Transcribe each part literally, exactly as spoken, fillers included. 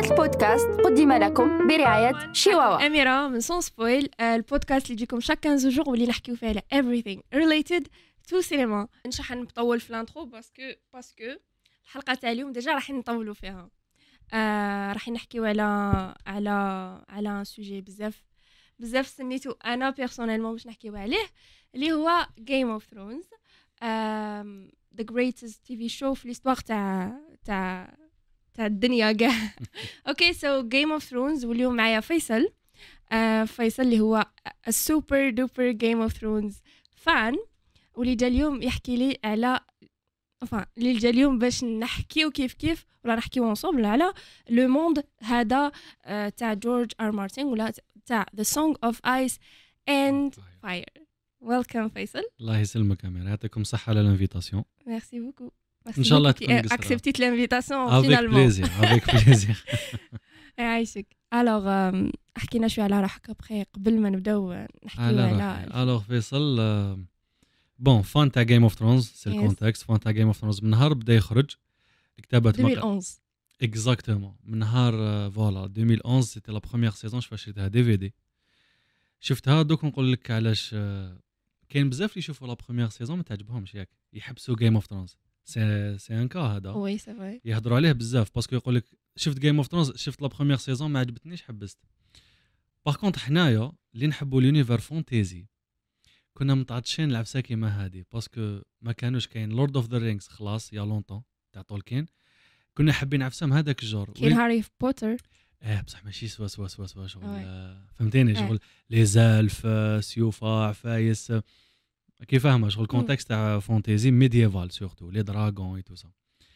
هذا البودكاست قدم لكم برعاية شيواوا. أميرة من سون سبويل، البودكاست اللي يجيكم شاك خمسة جوغ واللي نحكيو فيه على everything related to cinema. مش راح نطول في الانترو باسكو باسكو الحلقة تاع اليوم ديجا راح نطولوا فيها. آه راح نحكيو على على على سوجي بزاف بزاف سميتو انا بيرسونيلمون باش نحكيو عليه، اللي هو Game of Thrones. um, the greatest تي في show في الهستوار تاع تاع تاع الدنيا كاع. اوكي سو Game of Thrones، واليوم معايا فيصل. uh, فيصل اللي هو السوبر دوبر Game of Thrones فان، واللي جا اليوم يحكي لي على enfin اللي جا اليوم باش نحكيو كيف كيف ولا نحكيو انصومبل على لو موند هذا uh, تاع جورج ار مارتن ولا تاع The Song of Ice and Fire. Welcome فيصل. الله يسلمك أمير، يعطيكم صحة على الانفيتاسيون. ميرسي بوكو. إن شاء الله تكون قصيرة. accepté l'invitation avec finalement. plaisir avec plaisir. يعيشك. alors حكينا شويه على روحك ابخي قبل ما نبداو نحكيو على alors فيصل بون فان تاع Game of Thrones، سي الكونتكست. فان تاع Game of Thrones من نهار بدا يخرج كتابة ألفين وإحدى عشر اكزاكتومون، من نهار فوالا ألفين وإحدى سيتي لا بروميير سيزون شفتها دي في دي. شفتها دوك نقول لك علاش. كاين بزاف اللي يشوفوا لا بروميير سيزون ما تعجبهمش، ياك يحبسوا Game of Thrones. سي سي ان كا هذا وي سي فري، يهضروا عليه بزاف باسكو يقول لك شفت Game of Thrones، شفت لا بروميير سيزون ما عجبتنيش حبست. باغ كونطخ حنايا اللي نحبوا لونيفر فونتيزي كنا متعطشين العفسه كيما هذه، باسكو ما كانوش كاين لورد اوف ذا رينجز خلاص يا لونطون تاع تولكين، كنا حابين عفسه هذاك الجور. كاين هاري بوتر اه بصح ماشي سوا سوا سوا سوا شغل آه فهمتيني، شغل لي زالف سيوفا عفايس كيف فاهمه، شغل كونتكست تاع فونتيزي ميدييفال سورتو لي دراغون اي تو سا.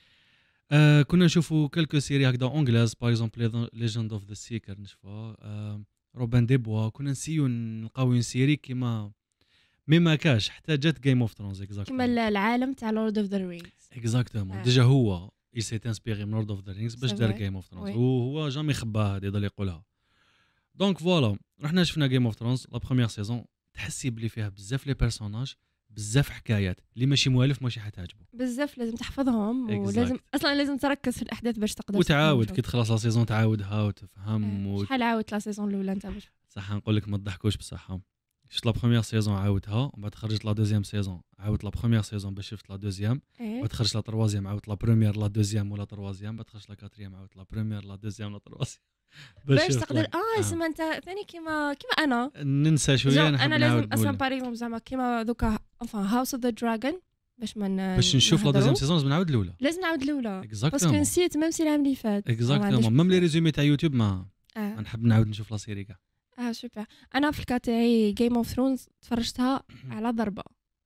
آه كنا نشوفوا كلكو سيري هكذا اونغلاز، باغ اكزومبل ليجند اوف ذا سيكر نشوفها، آه روبان دي بوا، كنا نسيو نلقاو سيري كيما مي ما كاش حتى جات Game of Thrones اكزاكتومون كيما العالم تاع لورد اوف ذا رينجز اكزاكتومون. ديجا هو il s'est inspiré من لورد اوف ذا رينجز باش دار Game of Thrones، وهو جامي خباها هذه يضل يقولها. دونك فوالا رحنا شفنا Game of Thrones لا بروميير سيزون، تحسي بلي فيها بزاف لي بيرسوناج، بزاف حكايات اللي ماشي موالف ماشي حتعجبو بزاف، لازم تحفظهم ولازم اصلا لازم تركز في الاحداث باش تقدر وتعاود كي تخلص لا سيزون تعاودها وتفهم. و... شحال عاودت لا سيزون الاولى انت باش صح نقول لك ما تضحكوش بصح، شفت لا بروميير سيزون عاودتها ومن بعد خرجت لا دوزيام سيزون عاودت لا بروميير سيزون باش شفت لا دوزيام، بعد خرجت لا تروازيام عاودت لا بروميير لا دوزيام ولا تروازيام، بعد خرجت لا كاتريام عاودت لا بروميير لا دوزيام لا تروازيام باش تقدر اه اسمع انت ثاني كيما كيما انا ننسى شويه. انا لازم اصلا باريزون زعما كيما دوكا انفا هاوس اوف ذا دراجون باش من باش نشوف لا دوزيام سيزون لازم نعاود الاولى، لازم نعاود الاولى باسكو نسيت ميم سي العام اللي فات اكزاكتومون. ميم لي ريزومي تاع يوتيوب ما آه. نحب نعاود نشوف لا سيري كاع. اه سوبر. انا في الكا تاعي جيم اوف ثرونز تفرجتها على ضربه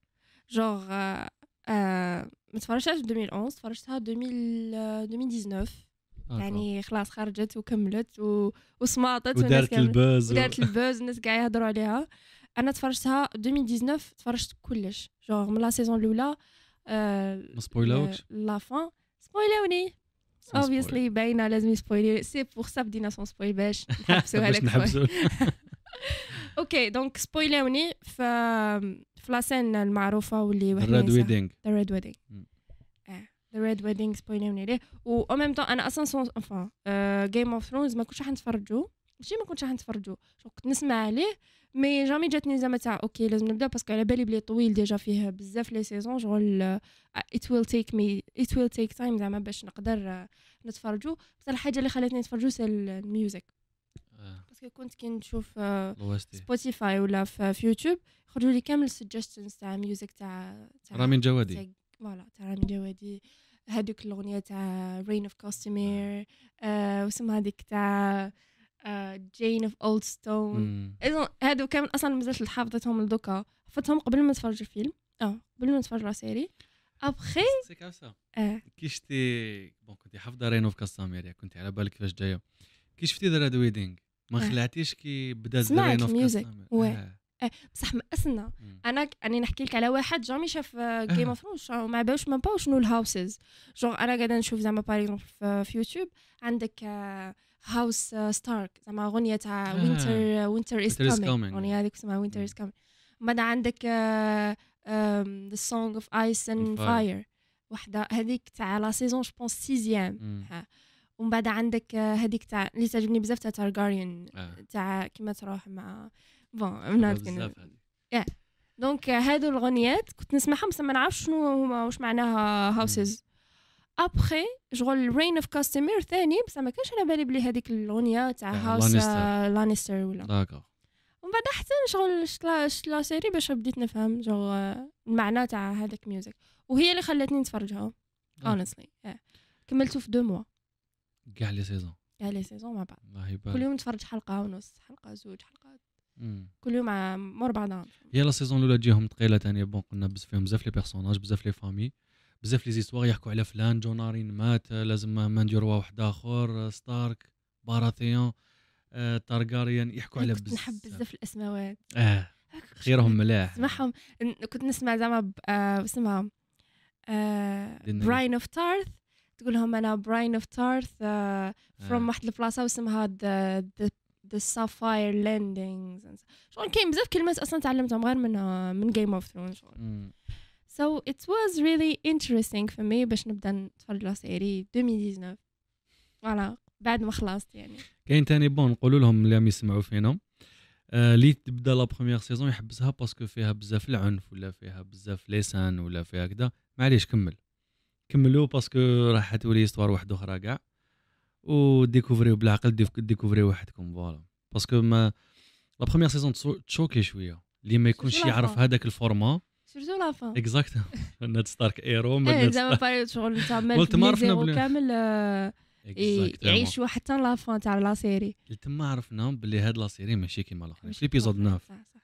جوغ آه آه ما تفرجتهاش ألفين وإحدى عشر، تفرجتها ألفين وتسعطاش يعني خلاص خرجت وكملت و... وسماطت ودارت البوز ودارت البوز الناس قاعد يهضروا عليها. انا تفرجتها ألفين وتسعطاش، تفرجت كلش جوغ من لا سيزون الاولى. آه ما سبويلاوكش لا فان سبويلاوني obviously باينه لازم يسبويلي، سي بور سا بدينا سون سبويل باش نحبسوها لك نحبسو. اوكي دونك سبويلاوني ف في لا سين المعروفه واللي وحنا ريد ويدينغ ذا ريد ويدينغ اه ذا ريد ويدينغ سبويلاوني ليه. و او ميم طون انا اصلا سون انفان جيم اوف ثرونز ما كنتش راح نتفرجوا، ماشي ما كنتش راح نتفرجوا، كنت نسمع عليه مي جامي جاتني زعما تاع اوكي لازم نبدا باسكو على بالي بلي طويل ديجا فيه بزاف لي سيزون شغل it will take me it will take time زعما باش نقدر نتفرجوا. بس الحاجه اللي خلاتني نتفرجوا سي الميوزك، باسكو كنت كي نشوف سبوتيفاي ولا في يوتيوب يخرجوا لي كامل سجستشنز تاع ميوزك تاع رامين جوادي، فوالا تاع رامين جوادي، هذوك الاغنيه تاع رين اوف كوستيمير واسمها هذيك تاع جين اوف اولد ستون. اذا هادو كامل اصلا مازلت حافظتهم لدوكا، حفظتهم قبل ما نتفرج الفيلم اه قبل ما نتفرج على سيري ابخي سي كاسا. اه كي شفتي بون كنتي حافظه رين اوف كاستامير، كنتي على بالك كيفاش جايه، كي شفتي ذا ريد ويدينغ ما خلعتيش كي بدات رين اوف كاستامير؟ اه بصح مأسنا. انا اني نحكي لك على واحد جامي شاف جيم اوف ثرونز وما باوش ما باو شنو الهاوسز، جونغ انا قاعده نشوف زعما باغ في يوتيوب عندك هاوس ستارك زعما اغنيه تاع وينتر وينتر از كامينغ، اغنيه هذيك اسمها وينتر از كامينغ. بعد عندك ذا سونغ اوف ايس اند فاير، وحده هذيك تاع لا سيزون جو بونس سيزيام، ومن بعد عندك هذيك تاع اللي تعجبني بزاف تاع تارغاريان آه. تاع كيما تروح مع بون نوت بزاف هذه يا دونك هادو الغنيات كنت نسمعهم بس ما نعرفش شنو هما واش معناها هاوسز. ابخي شغل رين اوف كاستمير ثاني بس ما كانش على بالي بلي هذيك الاغنيه تاع هاوس لانيستر ولا داكور. ومن بعد حتى شغل شلا شلا سيري باش بديت نفهم جو المعنى تاع هذاك ميوزك وهي اللي خلتني نتفرجها honestly yeah. كملته في دو موا كاع لي سيزون كاع لي سيزون مع بعض الله يبارك. كل يوم نتفرج حلقه ونص حلقه زوج حلقات مم. كل يوم مور بعضها. هي لا سيزون الاولى تجيهم ثقيله ثاني بون قلنا بزاف فيهم بزاف لي بيرسوناج بزاف لي فامي بزاف لي زيستوار يحكوا على فلان جونارين مات لازم ما نديروا واحد اخر ستارك باراثيون آه، تارغاريان يحكوا على بزاف نحب بزاف الاسماوات اه خيرهم ملاح نسمعهم. كنت نسمع زعما آه اسمها براين اوف تارث تقول لهم انا براين اوف تارث فروم واحد البلاصه واسمها ذا ذا سافاير لاندينغز شغل كاين بزاف كلمات اصلا تعلمتهم غير من من جيم اوف ثرونز. So it was really interesting for me باش نبدا نتفرج لا سيري ألفين وتسعطاش فوالا بعد ما خلصت يعني. كاين تاني بون نقولوا لهم اللي يسمعوا فينا اللي آه تبدا لا بروميير سيزون يحبسها باسكو فيها بزاف العنف ولا فيها بزاف لسان ولا فيها كذا معليش كمل كملوا باسكو راح تولي استوار واحده اخرى كاع وديكوفريو بالعقل ديكوفريو وحدكم فوالا باسكو ما لا بروميير سيزون تشوكي شويه اللي ما يكونش يعرف هذاك الفورما سيرتو لا فان اكزاكت ناد ستارك ايرو ما زعما باري شغل تعمل بليزيرو كامل يعيشوا حتى لا فان تاع لا سيري تما عرفنا بلي هاد لا سيري ماشي كيما الاخرين في ليبيزود تسعة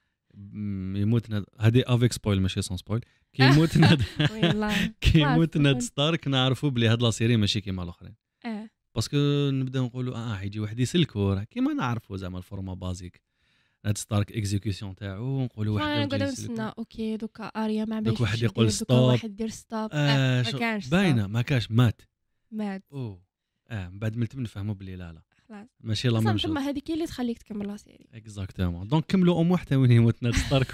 يموت ناد هادي افيك سبويل ماشي سون سبويل كي يموت ناد كي يموت ناد ستارك نعرفوا بلي هاد لا سيري ماشي كيما الاخرين اه باسكو نبداو نقولوا اه يجي واحد يسلكو كيما نعرفوا زعما الفورما بازيك ناد ستارك اكزيكيوشن تاعو نقولوا واحد نقعد نستنى اوكي دوكا اريا ما دوك واحد يقول ستوب واحد يدير ستوب آه ما كانش باينه ما كاش مات مات اوه اه من بعد ملت نفهموا بلي لا لا خلاص ماشي لا ميم ثم هذيك اللي تخليك تكمل لا سيري اكزاكتومون دونك كملوا ام حتى وين يموت ناد ستارك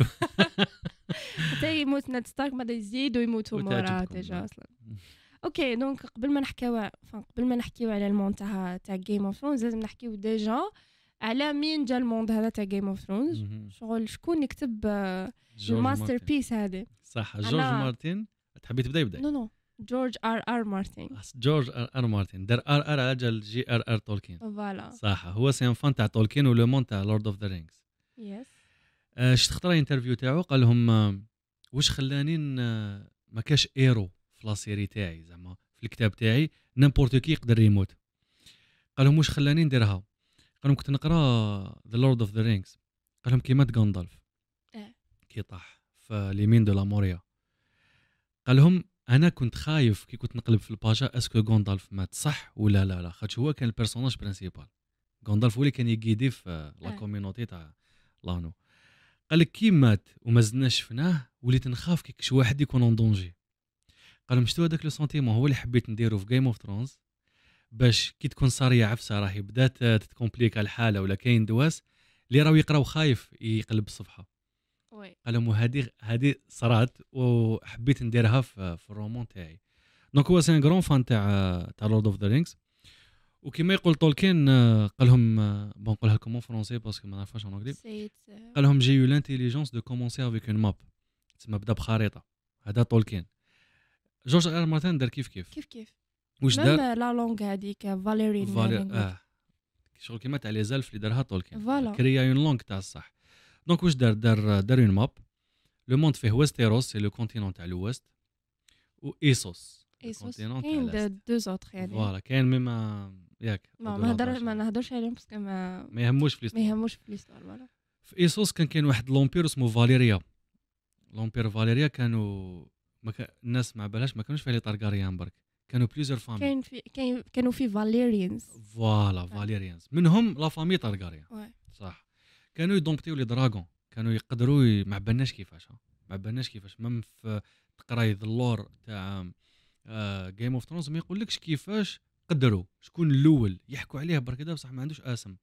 حتى يموت ناد ستارك بعد يزيدوا يموتوا مورا ديجا اصلا. اوكي دونك قبل ما نحكيو قبل ما نحكيو على المون تاع تاع جيم اوف ثرونز لازم نحكيو ديجا على مين جا الموند هذا تاع جيم اوف ثرونز شغل شكون يكتب الماستر بيس هذه صح جورج مارتن تحبي تبدا يبدا نو نو جورج ار ار مارتن جورج ار ار مارتن دار ار ار اجل جي ار ار تولكين فوالا صح هو سي ان فان تاع تولكين ولو مون تاع لورد اوف ذا رينجز يس شفت خطره انترفيو تاعو قال لهم واش خلاني ما كاش ايرو في لا سيري تاعي زعما في الكتاب تاعي نيمبورت كي يقدر يموت قال لهم واش خلاني نديرها قال لهم كنت نقرا ذا لورد اوف ذا رينجز قال لهم كي مات غاندالف اه كي طاح في ليمين دو لا موريا قال لهم انا كنت خايف كي كنت نقلب في الباجا اسكو غاندالف مات صح ولا لا لا خاطش هو كان البيرسوناج برينسيبال غاندالف هو اللي كان يقيدي في لا كوميونيتي تاع لانو قال لك كي مات وما زدنا شفناه وليت نخاف كي كش واحد يكون اون دونجي قال لهم شتو هذاك لو سونتيمون هو اللي حبيت نديرو في جيم اوف ثرونز باش كي تكون صاريه عفسه راهي بدات تتكومبليكا الحاله ولا كاين دواس اللي راهو يقراو خايف يقلب الصفحه وي قال لهم هذه هذه صرات وحبيت نديرها في, في الرومان تاعي دونك هو سي ان غران فان تاع تاع لورد اوف ذا رينجز وكما يقول تولكين قال لهم بون نقولها لكم اون فرونسي باسكو ما نعرفهاش اون انجلي قال لهم جي يو لانتيليجونس دو كومونسي افيك اون ماب تسمى بدا بخريطه هذا تولكين جورج ار مارتن دار كيف كيف كيف كيف واش دار لا لونغ هذيك فاليري فالير اه شغل كيما تاع لي زالف اللي دارها تولكين فوالا كريا اون لونغ تاع الصح دونك واش دار دار دار اون ماب لو موند فيه ويستيروس سي لو كونتينون تاع الويست و ايسوس ايسوس كاين دو زوتر يعني فوالا كاين ميما ياك ما نهضر ما نهضرش عليهم باسكو ما ما يهموش في ما يهموش في ليستوار فوالا في ايسوس كان كاين واحد لومبير اسمه فاليريا لومبير فاليريا كانوا ما كان الناس ما بالهاش ما كانوش فيه لي طارغاريان برك كانوا بليزيور فامي كاين في كاين كانوا في فاليريانز فوالا فاليريانز منهم لا فامي طارغاريان صح كانوا يدومبتيو لي دراغون كانوا يقدروا ي... ما بالناش كيفاش ما بالناش كيفاش ميم في تقراي اللور تاع جيم اوف ثرونز ما يقولكش كيفاش قدروا شكون الاول يحكوا عليه برك هذا بصح ما عندوش اسم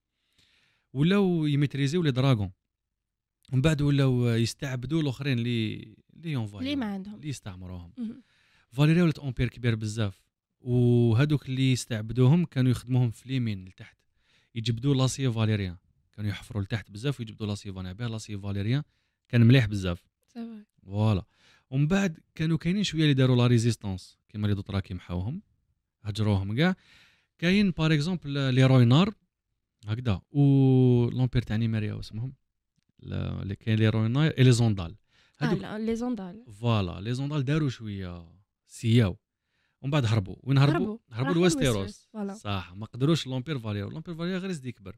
ولاو يميتريزيو لي دراغون ومن بعد ولاو يستعبدوا الاخرين اللي اللي يونفاي اللي ما عندهم اللي يستعمروهم فاليريا ولات امبير كبير بزاف وهذوك اللي استعبدوهم كانوا يخدموهم في اليمين لتحت، يجبدوا لاسي فاليريان، كانوا يحفروا لتحت بزاف ويجبدوا لاسي فاليريان، بها لاسي فاليريان كان مليح بزاف. فوالا. ومن بعد كانوا كاينين شويه اللي داروا لا ريزيستانس كيما لي دوطرا كيمحاوهم هجروهم كاع. كاين باغ اكزومبل لي روينار هكذا، و لومبير تاع نيميريا واسمهم اللي كاين لي روينار اي لي زوندال. هذوك لي زوندال فوالا لي زوندال داروا شويه سياو ومن بعد هربوا. وين هربوا؟ هربوا لويستيروس. صح، ما قدروش لومبير فاليرو. لومبير فاليرو غير يزيد يكبر.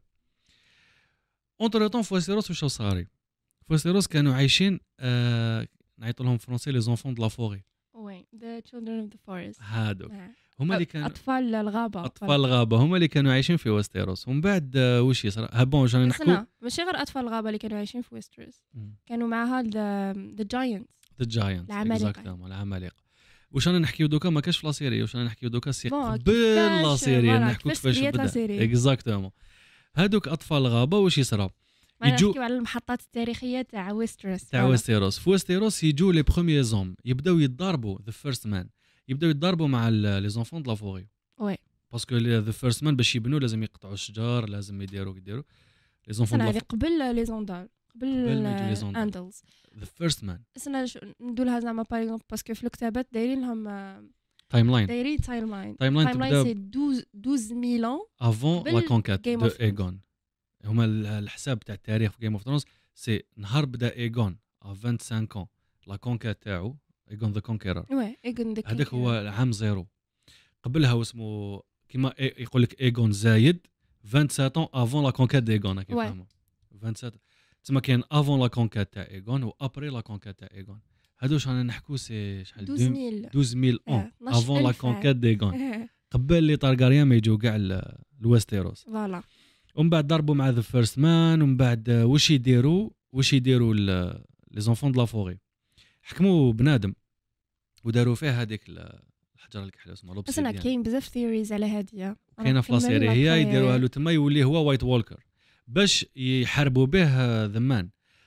اونتر طون في ويستيروس واش صاري؟ في ويستيروس كانوا عايشين آه... نعيط لهم فرونسي لي زونفون دو لا فوري. وي ذا تشيلدرن اوف ذا فورست. هادوك هما اللي كانوا اطفال الغابه. اطفال الغابه هما اللي كانوا عايشين في ويستيروس. ومن بعد آه... واش يصرا؟ ها بون جاني نحكوا ماشي غير اطفال الغابه اللي كانوا عايشين في ويستيروس، كانوا معها ذا ذا جاينتس. ذا جاينتس اكزاكتومون العمالقه. واش انا نحكيو دوكا ما كاش في لا سيري، واش انا نحكيو دوكا سي قبل لا سيري نحكوا كيفاش بدا اكزاكتومون. هادوك اطفال الغابه واش يصرا؟ يجوا نحكيو على المحطات التاريخيه تاع ويستيروس. تاع ويستيروس في ويستيروس يجوا لي بروميي زوم يبداو يتضاربوا ذا فيرست مان، يبداو يتضاربوا مع لي زونفون دو لا فوري. وي باسكو ذا فيرست مان باش يبنوا لازم يقطعوا الشجر، لازم يديروا يديروا لي زونفون دو لا فوري قبل لي زوندال قبل الاندلز. ذا فيرست مان انا ندولها زعما باغ اكزومبل باسكو في الكتابات دايرين لهم تايم لاين. دايرين تايم لاين. تايم لاين تبدا سي اثنا عشر ألف عام افون لا كونكات دو ايغون. هما الحساب تاع التاريخ في جيم اوف ثرونز سي نهار بدا ايغون ا خمسة وعشرين عام لا كونكات تاعو ايغون ذا كونكيرر. وي ايغون ذا هذاك هو العام زيرو. قبلها واسمه كيما يقول لك ايغون زايد سبعة وعشرين عام افون لا كونكات دايغون. كيف فهموا سبعة وعشرين تسمى كاين افون لا كونكات تاع ايغون و ابري لا كونكات تاع ايغون. هادو واش رانا نحكوا سي شحال اثنا عشر ألف عام افون لا كونكات دايغون، قبل لي طارغاريان ما يجوا كاع الويستيروس. فوالا. ومن بعد ضربوا مع ذا فيرست مان. ومن بعد واش يديروا واش يديروا لي زونفون دو لا فوري؟ حكموا بنادم وداروا فيه هذيك الحجره الكحله اسمها لوبسيديان. اصلا كاين بزاف ثيوريز على هذه كاينه في لا سيري هي يديروها له تما يولي هو وايت وولكر باش يحاربوا به ذا مان.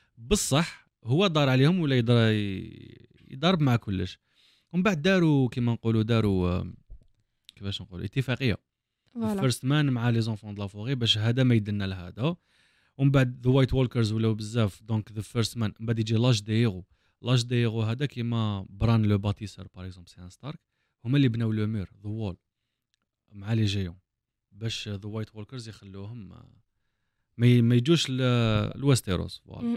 بصح هو دار عليهم ولا يضرب مع كلش. ومن بعد داروا كيما نقولوا داروا كيفاش نقولوا اتفاقيه الفيرست مان مع لي زونفون دو لا فوري باش هذا ما يدنا لهذا. ومن بعد ذا وايت وولكرز ولاو بزاف دونك ذا فيرست مان. من بعد يجي لاج دي هيرو. لاج دي هيرو هذا كيما بران لو باتيسر باغ اكزومبل سي ان ستارك، هما اللي بناو لو مير ذا وول مع لي جيون باش ذا وايت وولكرز يخلوهم ما ما يجوش لويستيروس. فوالا.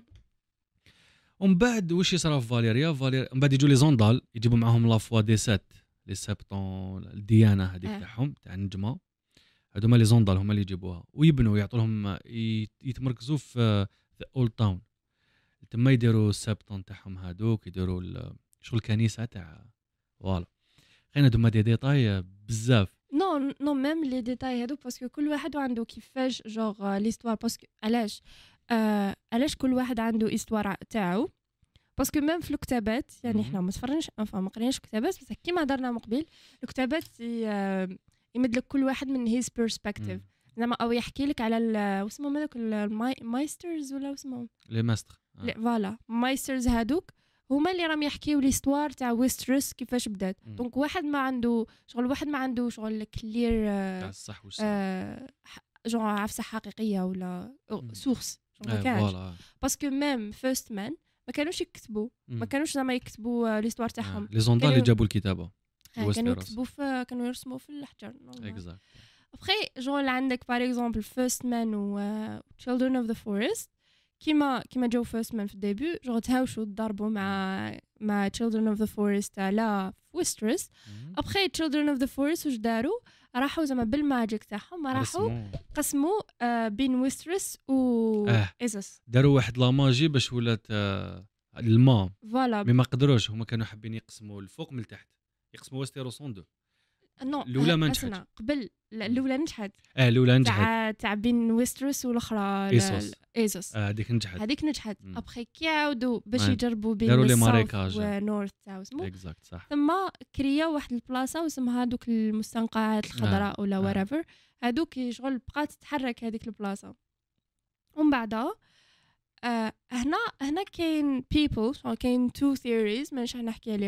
ومن بعد واش يصرا في فاليريا؟ فاليريا من بعد يجوا لي زوندال يجيبوا معاهم لا فوا دي سات لي سبطون الديانه هذيك تاعهم تاع النجمه. هذوما لي زوندال هما اللي يجيبوها ويبنوا يعطوا لهم يتمركزوا في اولد تاون تما يديروا السبطون تاعهم هذوك يديروا شغل الكنيسه تاع. فوالا. خلينا هذوما دي ديتاي بزاف. نو نو ميم لي ديتاي هذوك باسكو كل واحد عنده كيفاش جوغ ليستوار. باسكو علاش آه علاش كل واحد عنده استوار تاعو؟ باسكو ميم في الكتابات يعني حنا ما تفرجناش انفا ما قريناش كتابات بس كيما هضرنا من قبل الكتابات يمد لك كل واحد من هيز بيرسبكتيف زعما او يحكي لك على واسمهم هذوك المايسترز ولا اسمهم لي ماستر. فوالا مايسترز هذوك هما اللي راهم يحكيو ليستوار تاع ويستروس كيفاش بدات. دونك واحد ما عنده شغل واحد ما عنده شغل كلير تاع الصح والصح جون عفسه حقيقيه ولا سورس ما كانش. باسكو ميم فيرست مان ما كانوش يكتبوا ما كانوش زعما يكتبوا ليستوار تاعهم. لي زوندال اللي جابوا الكتابه كانوا يكتبوا في كانوا يرسموا في الحجر. اكزاكت. ابخي جون عندك باغ اكزومبل فيرست مان و تشيلدرن اوف ذا فورست كيما كيما جو فيرست مان في الديبيو جو تهاوشوا ضربوا مع مع تشيلدرن اوف ذا فورست على ويسترس. ابخي تشيلدرن اوف ذا فورست واش داروا؟ راحوا زعما بالماجيك تاعهم راحوا قسموا آه بين ويسترس و آه. ايزوس. داروا واحد لا ماجي باش ولات آه الماء. فوالا. مي ما قدروش هما كانوا حابين يقسموا الفوق من التحت يقسموا ويستيروس اون دو. نو الاولى ما نجحت. قبل الاولى نجحت. اه الاولى نجحت تاع تاع بين ويستروس والاخرى ايزوس. ايزوس هذيك آه نجحت. هذيك نجحت. ابخي كيعاودوا باش آه. يجربوا بين داروا لي الساوث ماريكاج ونورث تاع اسمو اكزاكت صح. ثم كريا واحد البلاصه واسمها دوك المستنقعات الخضراء آه. ولا وريفر هذوك شغل بقات تتحرك هذيك البلاصه. ومن بعدها آه هنا هنا كاين بيبل كاين تو ثيوريز مانيش نحكي عليهم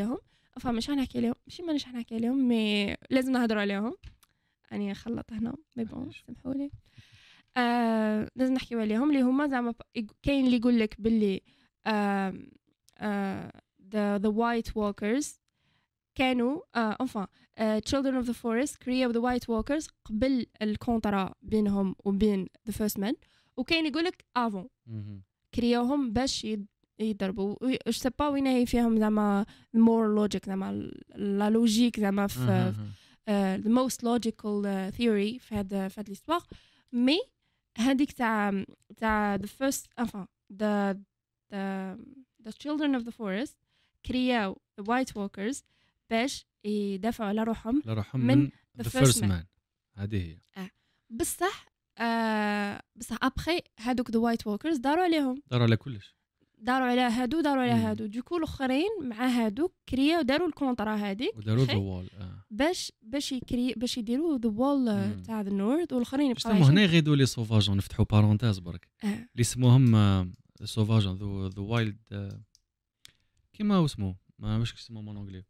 enfin مش حنحكي لهم ماشي مانيش حنحكي لهم مي لازم نهضروا عليهم يعني خلط هنا مي بون سامحوا لي آه لازم نحكيو عليهم اللي هما زعما كاين اللي يقول لك باللي آه آه the the white walkers كانوا آه enfin uh, children of the forest created the white walkers قبل الكونترا بينهم وبين the first men وكاين يقول لك avant كريوهم باش يضربوا جو سي با وين هي فيهم زعما more logic زعما لا لوجيك زعما في uh, the most logical uh, theory في هذا في هذا الاسبوع مي هذيك تاع تاع the first enfin the the the children of the forest كرياو the white walkers باش يدافعوا على روحهم لروحهم من, من the first man هذه هي آه. بصح آه بصح ابخي هادوك the white walkers داروا عليهم داروا على كلش داروا على هادو داروا على هادو دوكو الاخرين مع هادوك كرياو داروا الكونترا هذيك وداروا ذا وول آه. باش باش يكري باش يديروا ذا وول تاع ذا نورث والاخرين يبقاو هنا يغيدوا لي سوفاجون نفتحوا بارونتيز برك آه. اللي اسمهم سوفاجون ذو ذا وايلد كيما اسمه ما واش اسمه مون انجلي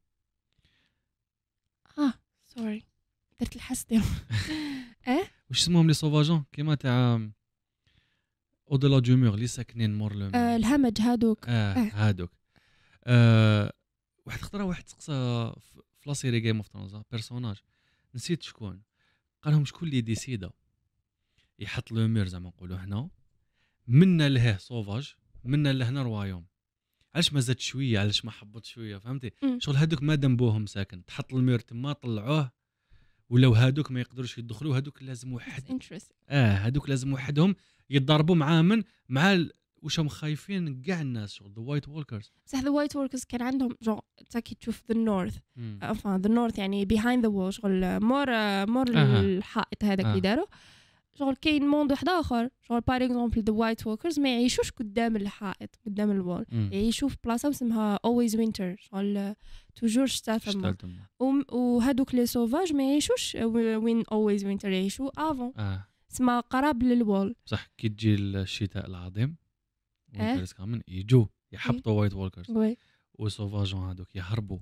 اه سوري درت الحس ديالهم اه واش اسمهم لي سوفاجون كيما تاع او دو لا دومور اللي ساكنين مور لو آه الهمج هادوك اه هادوك آه واحد خطره واحد سقسى في لا سيري جيم اوف ثرونز بيرسوناج نسيت شكون قال لهم شكون اللي ديسيدا يحط لو مير زعما نقولوا هنا منا لهيه سوفاج منا لهنا روايوم علاش ما زاد شويه علاش ما حبط شويه فهمتي شغل هادوك ما دنبوهم ساكن تحط المير تما طلعوه ولو هادوك ما يقدروش يدخلوا هادوك لازم واحد اه هادوك لازم وحدهم يتضربوا مع من مع ال... وشهم خايفين كاع الناس شغل ذا وايت وولكرز بصح ذا وايت وولكرز كان عندهم جو تاكي تشوف ذا نورث enfin ذا نورث يعني بيهايند ذا وول شغل مور مور أه. الحائط هذاك اللي أه. داروا شغل كاين موند واحد اخر شغل باغ اكزومبل ذا وايت وولكرز ما يعيشوش قدام الحائط قدام الوول يعيشوا في بلاصه اسمها اولويز وينتر شغل توجور شتا ثما وهذوك لي سوفاج ما يعيشوش وين اولويز وينتر يعيشوا افون اه اسمها قراب للوول صح كي تجي الشتاء العظيم وينترز كامل يجوا يحبطوا وايت وولكرز وي وسوفاجون هذوك يهربوا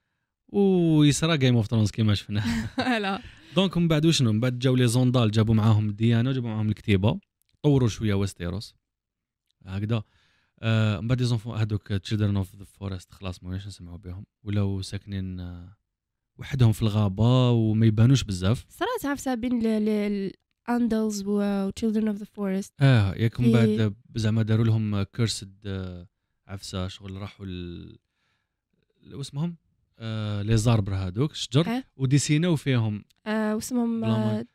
ويسرى جيم اوف ثرونز كيما شفنا لا دونك من بعد وشنو من بعد جاو لي زوندال جابوا معاهم الديانه وجابوا معاهم الكتيبه طوروا شويه ويستيروس هكذا آه من بعد يزونفون هذوك تشيلدرن اوف ذا فورست خلاص ما واش نسمعوا بهم ولاو ساكنين آه وحدهم في الغابه وما يبانوش بزاف صراحه عارفه بين الاندلز و تشيلدرن اوف ذا فورست اه ياك من بعد زعما داروا لهم كيرسد آه عفسه شغل راحوا ال... واسمهم آه لي زاربر هذوك الشجر أه؟ وديسيناو فيهم آه واسمهم ذا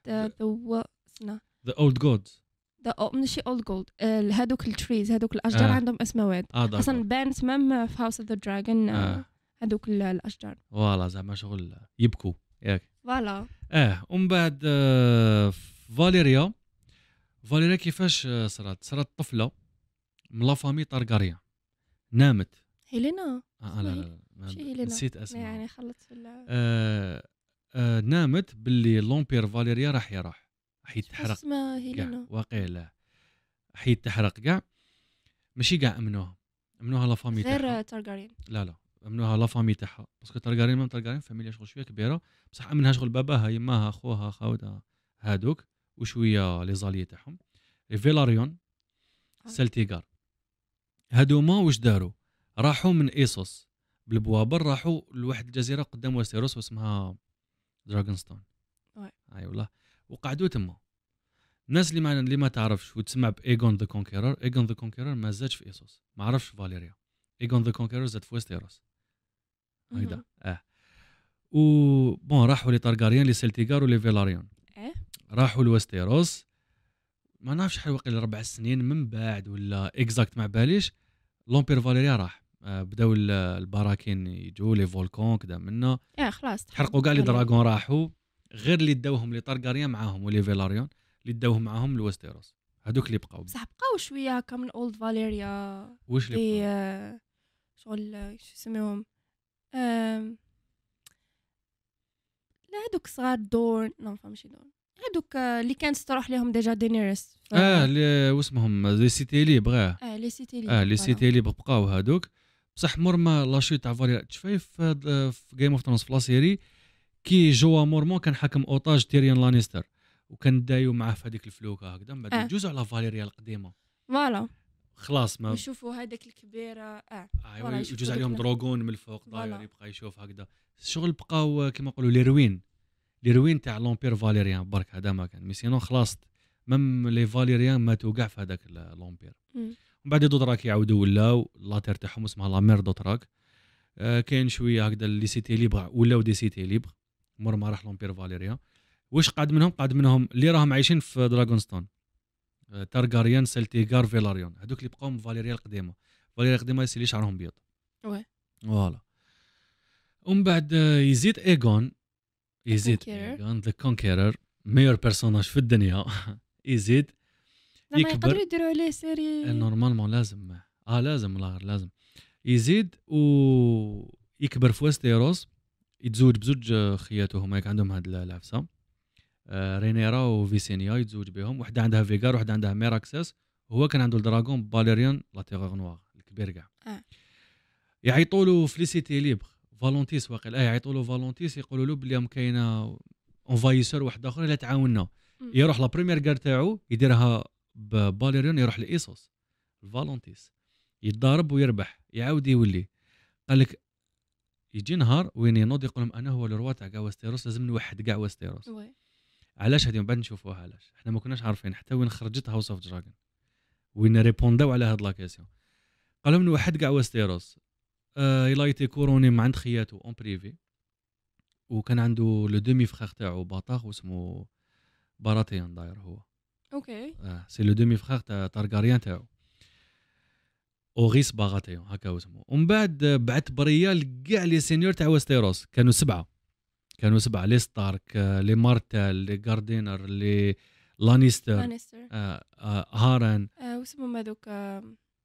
ذا اولد جودز ذا ماشي اولد جولد هذوك التريز هذوك الاشجار آه. عندهم اسماوات آه اصلا بان اسمهم في هاوس اوف ذا دراجون هذوك الاشجار فوالا زعما شغل يبكوا ياك فوالا اه ومن بعد آه فاليريا فاليريا كيفاش صرات صرات طفله من لا فامي طارغاريان نامت هيلينا آه لا لا, لا. نسيت اسمها يعني خلطت في آه آه نامت باللي لومبير فاليريا راح يروح راح يتحرق اسمها هيلينا واقيلا راح يتحرق كاع ماشي كاع امنوها امنوها لا فامي تاعها غير تارغاريان لا لا امنوها لا فامي تاعها باسكو تارغاريان ما تارغاريان فاميليا شغل شويه كبيره بصح امنها شغل باباها يماها خوها خاوتها هادوك وشويه لي زالي تاعهم فيلاريون سلتيغار هادوما واش داروا راحوا من ايسوس بالبوابر راحوا لواحد الجزيره قدام ويستيروس واسمها دراغونستون اي والله وقعدوا تما الناس اللي ما اللي ما تعرفش وتسمع بايغون ذا كونكيرر ايغون ذا كونكيرر ما زادش في ايسوس ما عرفش فاليريا ايغون ذا كونكيرر زاد في ويستيروس هكذا اه و بون راحوا لي طارغاريان لي سلتيغار ولي فيلاريون اه راحوا لويستيروس ما نعرفش شحال واقيلا ربع سنين من بعد ولا اكزاكت ما باليش لومبير فاليريا راح آه بداو البراكين يجوا لي فولكون كذا منا اه خلاص حرقوا كاع لي دراغون راحوا غير اللي داوهم لي طارغاريان معاهم ولي فيلاريون اللي داوهم معاهم لويستيروس هذوك اللي بقاو بصح بقاو شويه هكا من اولد فاليريا واش اللي بقاو شغل شو يسميهم لا هذوك صغار دورن نو فهمتش دورن هذوك اللي كانت تروح لهم ديجا دينيرس اه اللي واسمهم لي سيتي لي بغاه اه لي سيتي لي اه لي سيتي لي بقاو هذوك بصح مور ما لاشي تاع فاليريان تشفاي في جيم اوف ثرونز في لا سيري كي جوا مورمون كان حاكم اوتاج تيريان لانيستر وكان دايو معاه في هذيك الفلوكه هكذا من بعد آه. يجوزوا على فاليريا القديمه فوالا خلاص ما يشوفوا هذاك الكبيره اه ايوا يجوز عليهم دروك دروغون من الفوق داير فوالا. يبقى يشوف هكذا الشغل بقاو كيما نقولوا لي روين لي روين تاع لومبير فاليريان برك هذا ما كان مي سينو خلاص ميم لي فاليريان ماتوا كاع في هذاك لومبير مم. ومن بعد دوتراك يعاودوا ولاو لاتير تاعهم اسمها لا مير دوتراك آه كاين شويه هكذا لي سيتي ليبر ولاو دي سيتي ليبر مور ما راح لومبير فاليريان واش قعد منهم قعد منهم اللي راهم عايشين في دراغونستون آه تارغاريان سلتيغار فيلاريون هذوك اللي بقاو من فاليريا القديمه فاليريا القديمه اللي شعرهم بيض وي فوالا ومن بعد آه يزيد ايغون يزيد Conqueror. ايغون ذا كونكيرر ميور بيرسوناج في الدنيا يزيد زعما يكبر. يقدروا يديروا عليه سيري نورمالمون لازم اه لازم لا غير لازم يزيد و يكبر في وستيروس يتزوج بزوج خياته هما يك عندهم هاد العفسه آه رينيرا وفيسينيا يتزوج بهم وحده عندها فيغار وحده عندها ميراكسس وهو كان عنده الدراغون باليريان لا تيغور نوار الكبير كاع آه. يعيطوا له فليسيتي ليبر فالونتيس واقيلا اه يعيطوا له فالونتيس يقولوا له بلي كاينه انفايسور واحد اخر اللي تعاوننا مم. يروح لا بريمير كار تاعو يديرها بباليريون يروح لايسوس الفالونتيس يتضارب ويربح يعاود يولي قال لك يجي نهار وين ينوض يقول لهم انا هو الروا تاع كاع وستيروس لازم نوحد كاع وستيروس وي علاش هذه من بعد نشوفوها علاش احنا ما كناش عارفين حتى وين خرجت هاوس اوف دراجون وين ريبونداو على هاد لا كيسيون قال لهم نوحد كاع وستيروس آه الى ايتي كوروني مع عند خياتو اون بريفي وكان عنده لو دومي فخير تاعو باطاخ واسمه باراتيان داير هو اوكي اه سي لو دومي فخير تاع تارغاريان تاعو اوغيس باغاتيون هكا اسمه ومن بعد بعث بريال كاع لي سينيور تاع وستيروس كانوا سبعه كانوا سبعه لي ستارك لي مارتل لي غاردينر لي لانيستر لانيستر آه آه هارن آه واسمهم هذوك آه،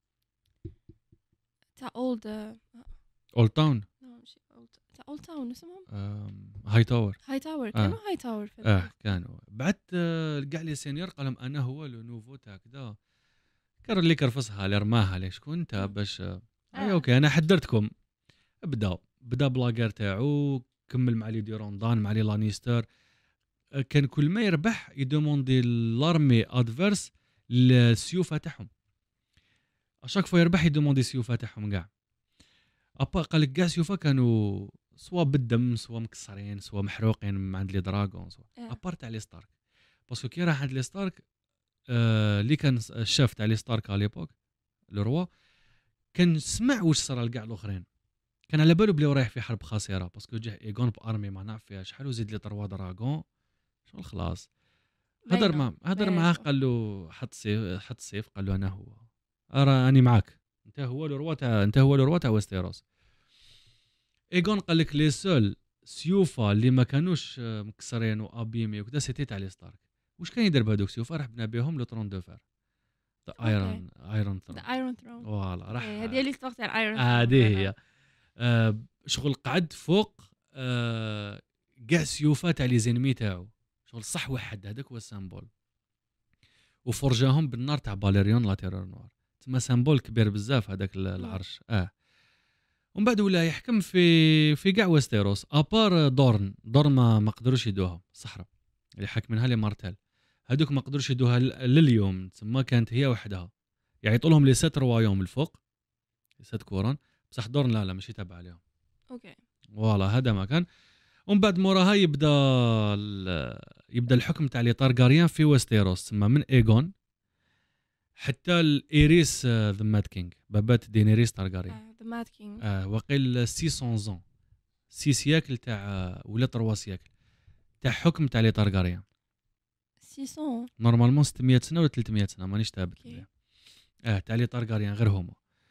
تاع اولد اول تاون ماشي اولد تاع اولد تاون اسمهم هاي تاور هاي تاور كانوا هاي تاور في اه كانوا بعث آه كاع لي سينيور قال لهم انا هو لو نوفو تاع كذا كان اللي كرفصها اللي رماها لي شكون انت باش آه. آه. اوكي انا حضرتكم بدا بدا بلاغير تاعو كمل مع لي ديروندان مع لي لانيستر آه كان كل ما يربح يدوموندي لارمي ادفيرس السيوف تاعهم اشاك فوا يربح يدوموندي السيوف تاعهم كاع ابا قال لك كاع سيوفا كانوا سوا بالدم سوا مكسرين سوا محروقين عند لي دراغون سوا آه. ابار تاع لي ستارك باسكو كي راح عند لي ستارك آه اللي كان الشاف تاع لي ستارك على ليبوك لو روا كان سمع واش صرا لكاع الاخرين كان على بالو بلي رايح في حرب خاسره باسكو جه ايغون بارمي ما نعرف فيها شحال وزيد لي تروا دراغون شغل خلاص هضر باينة. مع هضر باينة معاه شغل. قال له حط سيف حط سيف قال له انا هو راني معاك انت هو لو روا تاع انت هو لو روا تاع وستيروس ايغون قال لك لي سول سيوفا اللي ما كانوش مكسرين وابيمي وكذا سيتي تاع لي ستارك واش كان يدير بهذوك سيوفا راح بنا بهم لو طرون دو فير ايرون ايرون ذا ايرون ثرون فوالا راح هذه اللي ستوك تاع الايرون هذه هي آه شغل قعد فوق آه كاع سيوفا تاع لي زينمي تاعو شغل صح وحد هذاك هو السامبول وفرجاهم بالنار تاع باليريون لا تيرور نوار تما سامبول كبير بزاف هذاك العرش اه ومن بعد ولا يحكم في في كاع وستيروس ابار دورن دورن ما ما قدروش يدوها الصحراء اللي حاكمينها لي مارتل هذوك ما قدروش يدوها لليوم تما كانت هي وحدها يعيطوا لهم لي سات روايوم الفوق لي سات كورون بصح دورن لا لا ماشي تابع عليهم اوكي فوالا هذا ما كان ومن بعد موراها يبدا يبدا الحكم تاع لي طارغاريان في وستيروس تما من ايغون حتى الايريس ذا ماد كينغ بابات دينيريس طارغاريان ذا ماد كينغ اه وقيل ستمية زون ستة سياكل تاع ولا ثلاثة سياكل تاع حكم تاع لي طارغاريان ستمية نورمالمون ستمية سنه ولا ثلاثمية سنه مانيش ثابت اوكي اه تاع لي طارغاريان غير هما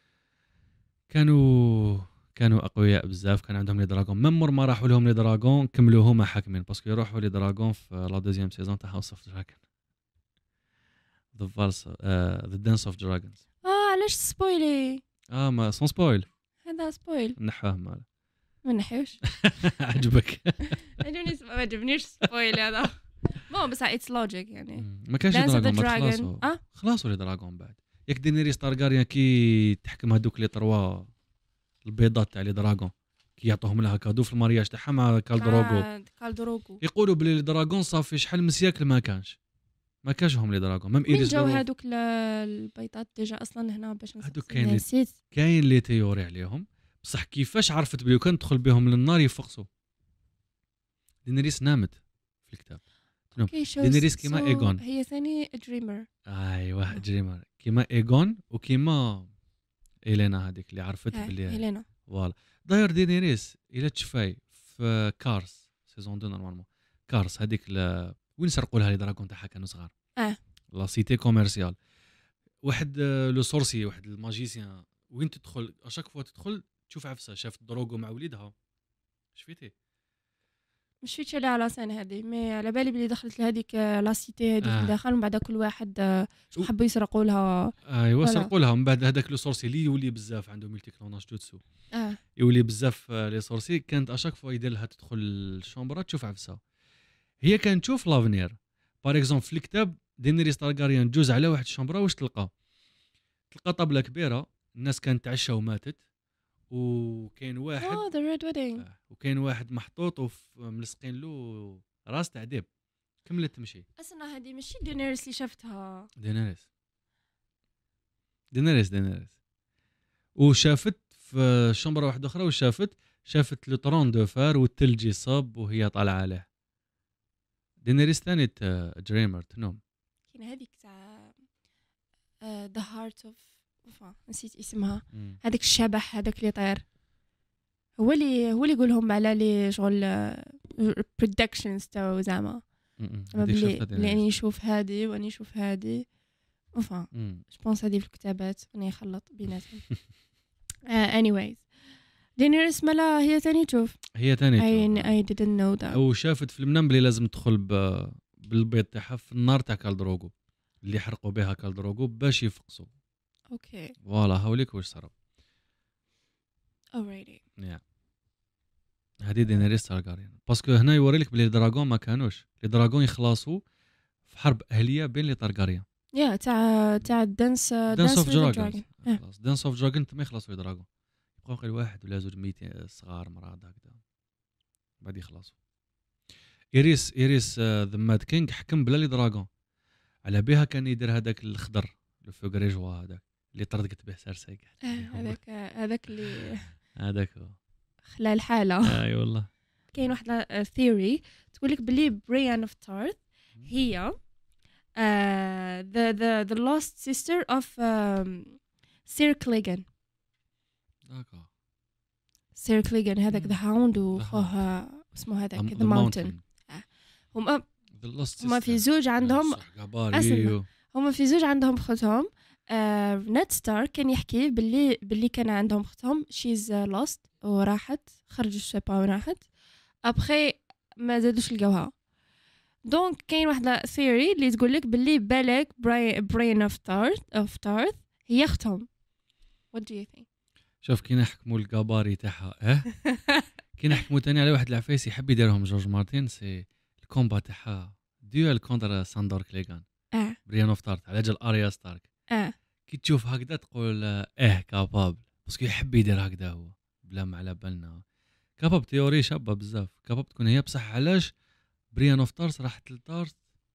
كانوا كانوا اقوياء بزاف كان عندهم لي دراغون ميم مور ما راحوا لهم لي دراغون كملوا هما حاكمين باسكو يروحوا لي دراغون في لا دوزيام سيزون تاع هاوس اوف دراغون ذا فالس ذا دانس اوف دراغونز اه علاش سبويلي اه ما سون سبويل هذا سبويل نحوه مال ما نحيوش عجبك عجبني ما عجبنيش سبويل هذا مو بس اتس لوجيك يعني ما كانش Dance of the دراغون ما Dragon. خلاصوا اه خلاصوا لي دراغون بعد ياك دينيريس طارغاريان كي تحكم هذوك لي تروا البيضات تاع لي دراغون كي يعطوهم لها كادو في المارياج تاعها مع كالدروغو كالدروغو يقولوا بلي لي دراغون صافي شحال من سياكل ما كانش ما كانش هم لي دراغون ميم ايريس جاو هذوك البيضات ديجا اصلا هنا باش هذوك كاين لي كاين لي تيوري عليهم بصح كيفاش عرفت بلي كان تدخل بهم للنار يفقسوا دينيريس نامت في الكتاب دينيريس كيما so ايغون هي ثاني دريمر ايوا دريمر كيما ايغون وكيما إلينا هذيك اللي عرفت بلي إلينا فوالا داير دينيريس الى تشفاي في كارس سيزون اثنين نورمالمون كارس هذيك ل... وين سرقوا لها لي دراغون تاعها كانوا صغار اه لا سيتي كوميرسيال واحد لو سورسي واحد الماجيسيان وين تدخل اشاك فوا تدخل تشوف عفسه شافت دروغو مع وليدها شفيتي مش فيتش على راسان هذه مي على بالي بلي دخلت لهذيك لا سيتي هذيك آه. داخل ومن بعد كل واحد شو حبوا يسرقوا لها ايوا سرقوا لها من بعد هذاك لو سورسي اللي يولي بزاف عنده ملتي كلوناج جوتسو اه يولي بزاف لي سورسي كانت اشاك فوا يدير لها تدخل الشومبرا تشوف عفسه هي كانت تشوف لافنير باغ اكزومبل في الكتاب دينيريس تارغاريان جوز على واحد الشومبرا واش تلقى تلقى طابله كبيره الناس كانت تعشى وماتت وكاين واحد اه ذا ريد ويدنج آه. وكاين واحد محطوط وملصقين له راس تاع ديب كملت تمشي اصلا هذه ماشي دينيريس اللي شفتها دينيريس دينيريس دينيريس وشافت في شمبره واحده اخرى وشافت شافت لو طرون دو فار والثلج يصب وهي طالعه عليه دينيريس ثاني دريمر تنوم كاين هذيك تاع ذا هارت اوف نسيت اسمها هذاك الشبح هذاك اللي طير هو اللي هو اللي يقولهم على لي شغل برودكشنز تاعو زعما بلي اللي نشوف هذه واني نشوف هذه enfin je pense هذه في الكتابات راني نخلط بيناتهم anyways دينيريس مالا هي ثاني تشوف هي ثاني تشوف I didn't know that او شافت في المنام بلي لازم تدخل بالبيض تاعها في النار تاع كالدروغو اللي حرقوا بها كالدروغو باش يفقسوا اوكي فوالا هاوليك واش صرا alrighty يا هذه دينيريس تارغاريان باسكو هنا يوري لك بلي الدراغون ما كانوش لي دراغون يخلصوا في حرب اهليه بين لي تارغاريان يا تاع تاع دانس دانس اوف دراغون خلاص دانس اوف دراغون ما يخلصوا لي دراغون يبقاو غير واحد ولا زوج ميتين صغار مراد هكذا بعد يخلصوا ايريس ايريس ذا ماد كينغ حكم بلا لي دراغون على بها كان يدير هذاك الخضر لو فوغريجوا هذاك اللي طردقت به سارسي هذاك هذاك اللي هذاك هو خلى الحاله اي والله كاين واحد ثيوري تقول لك بلي بريان اوف تارث هي ذا ذا ذا لوست سيستر اوف سير كليغان داكا سير كليغان هذاك ذا هاوند وخوها اسمه هذاك ذا ماونتن هما هما في زوج عندهم هما في زوج عندهم اختهم نت ستار كان يحكي باللي باللي كان عندهم اختهم شيز لوست وراحت خرجوا الشابا وراحت ابخي ما زادوش لقاوها دونك كاين واحده ثيوري اللي تقول لك باللي بالك برين اوف تارث اوف تارث هي اختهم what do you think شوف كي نحكموا الكاباري تاعها اه كي نحكموا ثاني على واحد العفايس يحب يديرهم جورج مارتين سي الكومبا تاعها ديوال كونتر ساندور كليغان اه بريان اوف تارث على جال اريا ستارك اه كي تشوف هكذا تقول اه كابابل باسكو يحب يدير هكذا هو بلا ما على بالنا كاباب تيوري شابه بزاف كاباب تكون هي بصح علاش بريان اوف تارث راحت للتارث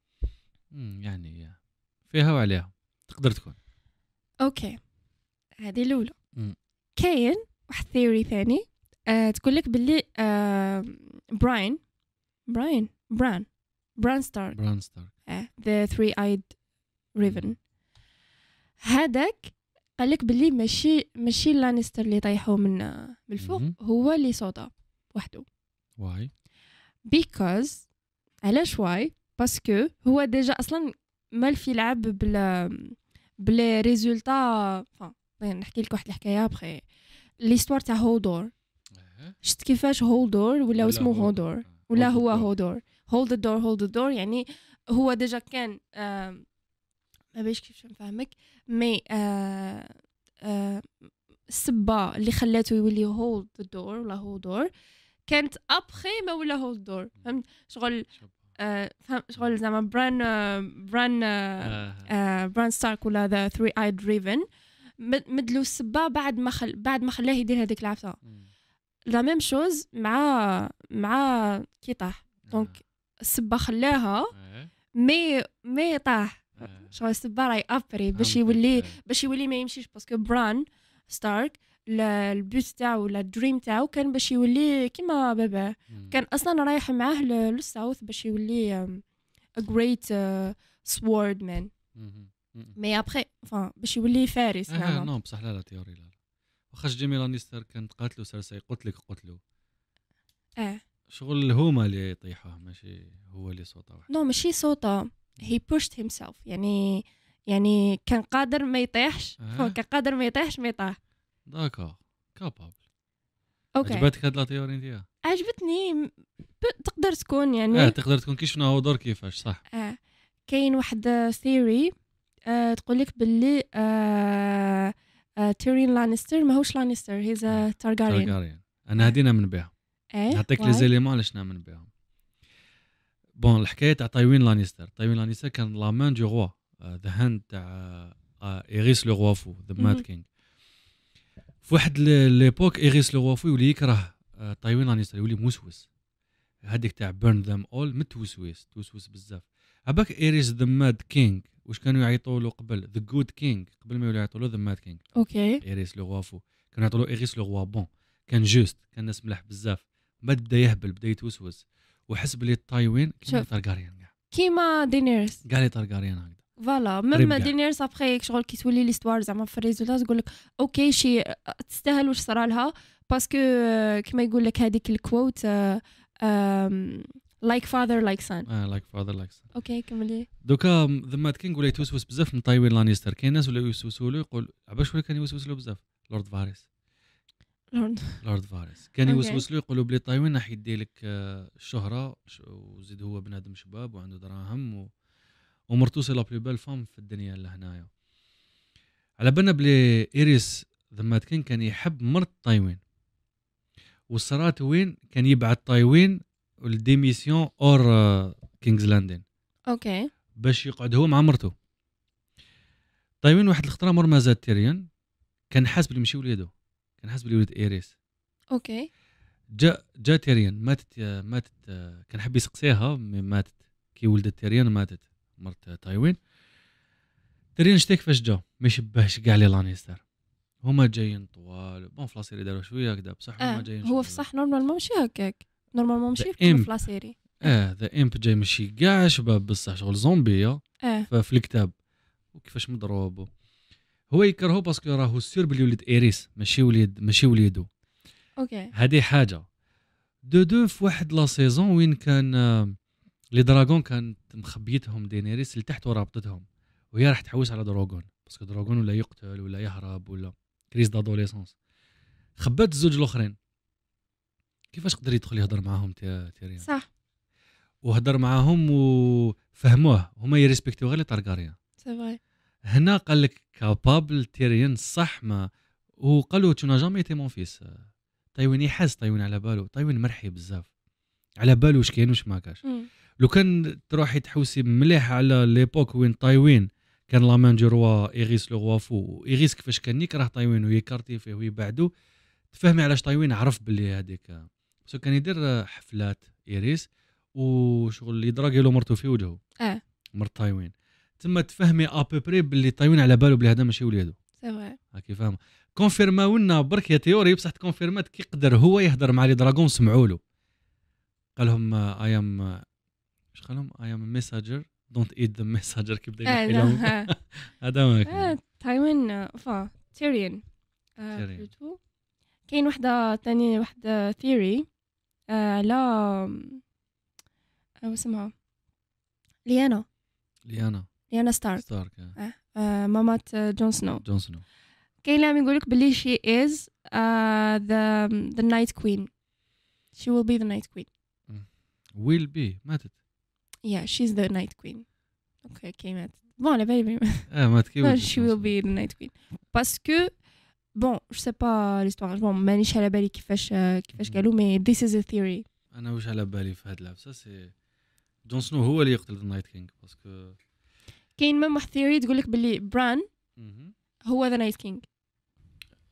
يعني فيها وعليها تقدر تكون اوكي هذه الاولى كاين واحد ثيوري ثاني أه تقول لك باللي أه براين براين بران بران ستار بران ستار اه ذا ثري ايد ريفن هذاك قال لك باللي ماشي ماشي لانستر اللي طيحوا من من الفوق هو اللي صودا وحده واي بيكوز علاش واي باسكو هو ديجا اصلا مال في لعب بلا بلا ريزولتا فا نحكي لك واحد الحكايه بخي ليستوار تاع هولدور شفت كيفاش هولدور ولا اسمه هولدور ولا هو هولدور هولد الدور هولد الدور يعني هو ديجا كان ما باش كيفاش نفهمك مي آه آه السبه اللي خلاته يولي هولد الدور ولا هولدور كانت ابخي ما ولا هولد دور فهمت شغل آه فهم شغل زعما بران آه بران آه آه بران ستارك ولا ذا ثري ايد ريفن مدلو السبه بعد ما خل... بعد ما خلاه يدير هذيك العفسه. لا ميم شوز مع مع كي طاح دونك السبه خلاها مي مي طاح شغل السبه راي ابري باش يولي باش يولي ما يمشيش باسكو بران ستارك البيوت تاعو ولا الدريم تاعو كان باش يولي كيما بابا كان اصلا رايح معاه للساوث باش يولي a great uh, sword man مي ابري فان باش يولي فارس اه نو بصح لا لا تيوري لا واخا جيمي لانيستر كانت قاتلو سيرسي قلت لك قتلو اه شغل هما اللي يطيحوه ماشي هو اللي صوته واحد نو ماشي صوته he pushed himself يعني يعني كان قادر ما يطيحش آه. كان قادر ما يطيحش ما يطيح داكا كابابل اوكي عجبتك هاد لا تيوري نتاعها عجبتني ب... تقدر تكون يعني اه تقدر تكون كي شفنا هو دور كيفاش صح اه كاين واحد ثيوري آه تقول لك باللي آه آه تيرين لانستر ماهوش لانستر هيز تارجاريان تارجاريان انا هدينا من بها ايه نعطيك لي زيليمون علاش نامن بهم بون الحكايه تاع تايوين لانيستر تايوين لانيستر كان لا مان دو روا ذا هاند تاع ايريس لو روا فو ذا ماد كينغ في واحد ليبوك ايريس لو روا فو يولي يكره تايوين لانيستر يولي موسوس هذيك تاع بيرن ذم اول متوسوس توسوس بزاف عباك ايريس ذا ماد كينغ واش كانوا يعيطوا له قبل ذا جود كينغ قبل ما يولي يعيطوا له ذا ماد كينغ اوكي ايريس لو روا فو كانوا يعيطوا له ايريس لو روا بون كان جوست كان ناس ملاح بزاف بدا يهبل بدا يتوسوس وحس بلي تايوين كيما تارجاريان كاع كيما دينيرس كاع لي تارجاريان هكذا فوالا ميم دينيرس ابخي شغل كي تولي ليستوار زعما في الريزولتا تقول لك اوكي شي تستاهل واش صرا لها باسكو كيما يقول لك هذيك الكوت لايك فاذر لايك سان اه لايك فاذر لايك سان اوكي كملي دوكا ذا ماد كينغ ولا يتوسوس بزاف من تايوين لانيستر كاين ناس ولا يوسوسوا له يقول عباش ولا كان يوسوس له بزاف لورد فاريس لورد لورد فاريس كان يوسوس له يقولوا بلي تايوين راح يدي لك الشهره وزيد هو بنادم شباب وعنده دراهم و... ومرتو سي لا بلو بال فام في الدنيا لهنايا على بالنا بلي ايريس ذا ماد كينغ كان يحب مرت تايوين والصرات وين كان يبعث تايوين الديميسيون اور كينغز لاندين اوكي باش يقعد هو مع مرته تايوين واحد الخطره مر ما زاد تيريان كان حاسب بلي ماشي وليدو كان حاسب بلي ولد ايريس اوكي جا جا تيريان ماتت ماتت كان حب يسقسيها ماتت كي ولدت تيريان ماتت مرت تايوين تيريان شتي كيفاش جا ما يشبهش كاع لي لانيستر هما جايين طوال بون فلاسيري داروا شويه هكذا بصح هما آه. جايين هو في صح نورمالمون ماشي هكاك نورمالمون ماشي في لا سيري اه ذا امب جاي ماشي كاع شباب بصح شغل زومبيه اه في الكتاب وكيفاش مضروب هو يكرهو باسكو راهو سير بلي ولد ايريس ماشي وليد ماشي وليدو اوكي هذه حاجه دو دو في واحد لا سيزون وين كان آه لي دراغون كانت مخبيتهم دينيريس لتحت ورابطتهم وهي راح تحوس على دراغون باسكو دراغون ولا يقتل ولا يهرب ولا كريز دادوليسونس خبات الزوج الاخرين كيفاش قدر يدخل يهضر معاهم تيريان صح وهضر معاهم وفهموه هما يريسبكتيو غير لي تارغاريان سي فري هنا قال لك كابابل تيريان صح ما وقالوا تو نا جامي ايتي مون فيس تايوين يحس تايوين على بالو تايوين مرحي بزاف على بالو واش كاين واش ما كاش لو كان تروحي تحوسي مليح على ليبوك وين تايوين كان لا مان دو روا ايريس لو روا فو ايريس كيفاش كان يكره تايوين ويكارتي فيه ويبعدو تفهمي علاش تايوين عرف باللي هذيك بس كان يدير حفلات ايريس وشغل اللي يدراغي له مرتو في وجهه اه مرت تايوين تما تفهمي ابوبري باللي تايوين على بالو بلي هذا ماشي وليدو سي فري هاكي فاهم كونفيرماو لنا برك يا تيوري بصح كونفيرمات كي يقدر هو يهضر مع لي دراغون سمعوا له قال لهم اي ام اش قال لهم اي ام ميساجر دونت ايت ذا ميساجر كي بدا يحكي لهم هذا ما كان تايوين فا تيريان بلوتو كاين وحده ثاني وحده ثيوري على او اسمها ليانا ليانا ليانا ستارك ستارك اه مامات جون سنو جون سنو كاين اللي يقول لك بلي شي از ذا ذا نايت كوين she will be the night queen will be ماتت yeah she's the night queen okay كي ماتت بون على بالي اه ماتت كي ولدت she will be the night queen باسكو بون جو سي با ليستوار بون مانيش على بالي كيفاش كيفاش قالوا مي this is a theory انا واش على بالي في هاد العفسه سي جون سنو هو اللي يقتل ذا نايت كينغ باسكو كاين ميم واحد ثيوري تقول لك بلي بران هو ذا نايت كينغ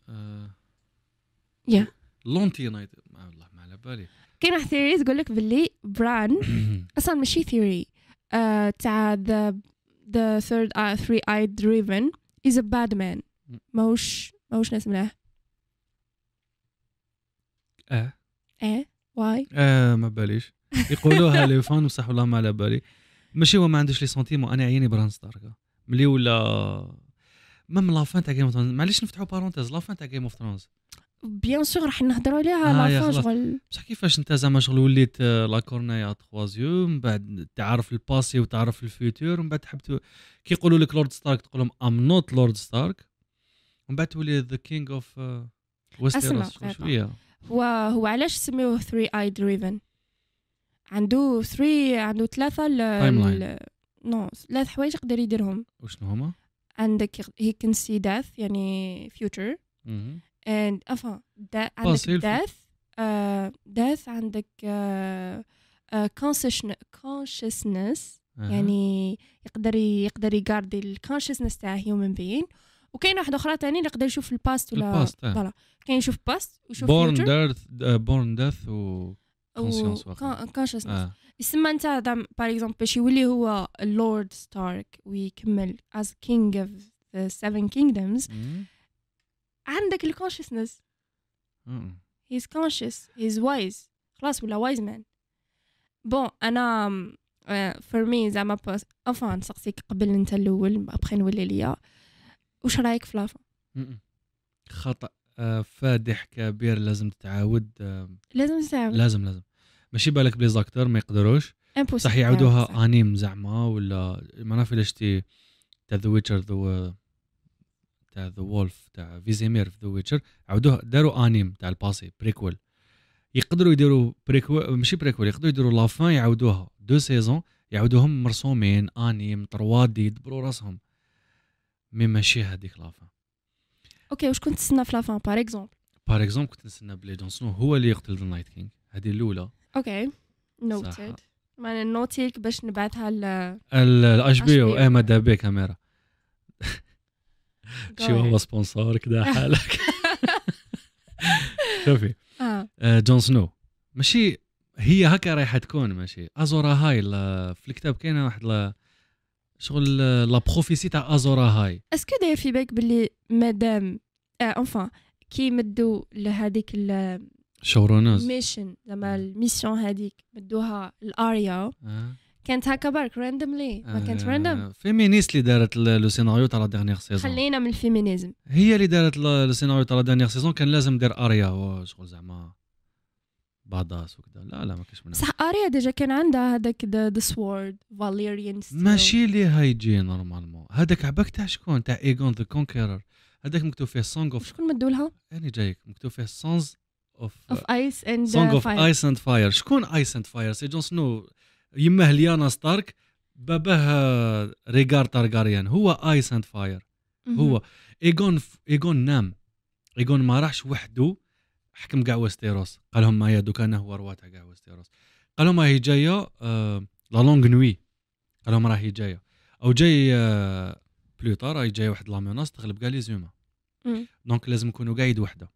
يا لونتي نايت والله ما على بالي. كاين واحد ثيوري تقول لك باللي بران اصلا ماشي ثيوري تاع ذا ذا ثيرد ثري ايد ريفن از ا باد مان ماهوش ماهوش ناس ملاح. اه اه واي اه ما باليش يقولوها لي فان بصح والله ما على بالي. ماشي هو ما عندوش لي سونتيمون انا عيني بران ستارك ملي ولا ميم لا فان تاع جيم اوف ثرونز. معليش نفتحوا بارونتيز لا فان تاع جيم اوف ثرونز بيان سور راح نهضروا عليها آه لا فان شغل. بصح كيفاش انت زعما شغل وليت لا كورنيا تخوازيو من بعد تعرف الباسي وتعرف الفيوتور ومن بعد تحب كي يقولوا لك لورد ستارك تقول لهم ام نوت لورد ستارك ومن بعد تولي ذا كينج اوف ويستيروس شويه. هو هو علاش سميوه ثري ايد ريفن؟ عنده ثري عنده ثلاثه ال نو ثلاث حوايج يقدر يديرهم. وشنو هما؟ عندك he can see death يعني future and enfin da, عندك death uh, death عندك uh, uh, consciousness consciousness يعني يقدر يقدر يقاردي ال consciousness تاع human being. وكاين واحده اخرى ثاني اللي يقدر يشوف الباست ولا فوالا كاين يشوف باست ويشوف born death uh, born death و conscience consciousness. يسمى انت باغ اكزومبل باش يولي هو لورد ستارك ويكمل as king of the seven kingdoms عندك الكونشسنس. he's conscious he's wise خلاص ولا wise man. بون انا for me زعما افا نسقسيك قبل انت الاول ابخي نولي ليا واش رايك في لافا؟ خطا فادح كبير لازم تتعاود لازم تتعاود لازم لازم ماشي بالك بلي زاكتور ما يقدروش صح يعودوها انيم زعما ولا ما نعرف الا شتي تاع ذا ويتشر ذا تاع ذا وولف تاع فيزيمير في ذا ويتشر عودوها داروا انيم تاع الباسي بريكول. يقدروا يديروا بريكول ماشي بريكول يقدروا يديروا لافان يعودوها دو سيزون يعودوهم مرسومين انيم تروا دي يدبروا راسهم مي ماشي هذيك لافان. اوكي واش كنت تستنى في لافان باغ اكزومبل؟ باغ اكزومبل كنت نستنى بلي جون سنو هو اللي يقتل ذا نايت كينغ هذه الاولى. اوكي نوتد ما نوتيك باش نبعثها ل الاش بي او اي ماذا بي كاميرا شي هو سبونسور كذا حالك. شوفي اه جون سنو ماشي هي هكا رايحه تكون ماشي ازورا هاي في الكتاب كاينه واحد لا شغل لا بروفيسي تاع ازورا هاي. اسكو داير في بالك باللي مادام انفان كي مدوا لهذيك شورونوز ميشن زعما الميسيون هذيك مدوها الاريا آه. كانت هكا برك راندوملي ما كانت راندوم. فيمينيست اللي دارت لو سيناريو تاع لا ديرنيير سيزون. خلينا من الفيمينيزم هي اللي دارت لو سيناريو تاع لا ديرنيير سيزون كان لازم دير اريا شغل زعما بعضاس وكذا. لا لا ما كاش منها صح. اريا ديجا كان عندها هذاك ذا سوورد فاليريان ماشي اللي هايجي نورمالمون. هذاك عباك تاع شكون تاع ايغون ذا كونكيرر هذاك مكتوب فيه سونغ اوف شكون مدولها يعني جايك مكتوب فيه سونز اوف اوف ايس اند سونغ اوف ايس اند فاير. شكون ايس اند فاير؟ سي جون سنو يمه ليانا ستارك باباه ريغار تارغاريان هو ايس اند فاير. هو ايغون ايغون نام ايغون ما راحش وحده حكم كاع ويستيروس قال لهم ما دوك انا هو روا تاع كاع ويستيروس قال لهم راهي جايه آه لا لونغ نوي قال لهم راهي جايه او جاي آه بلوطار راهي جايه واحد لا ميناس تغلب كاع لي زوما دونك لازم نكونوا قاعد وحده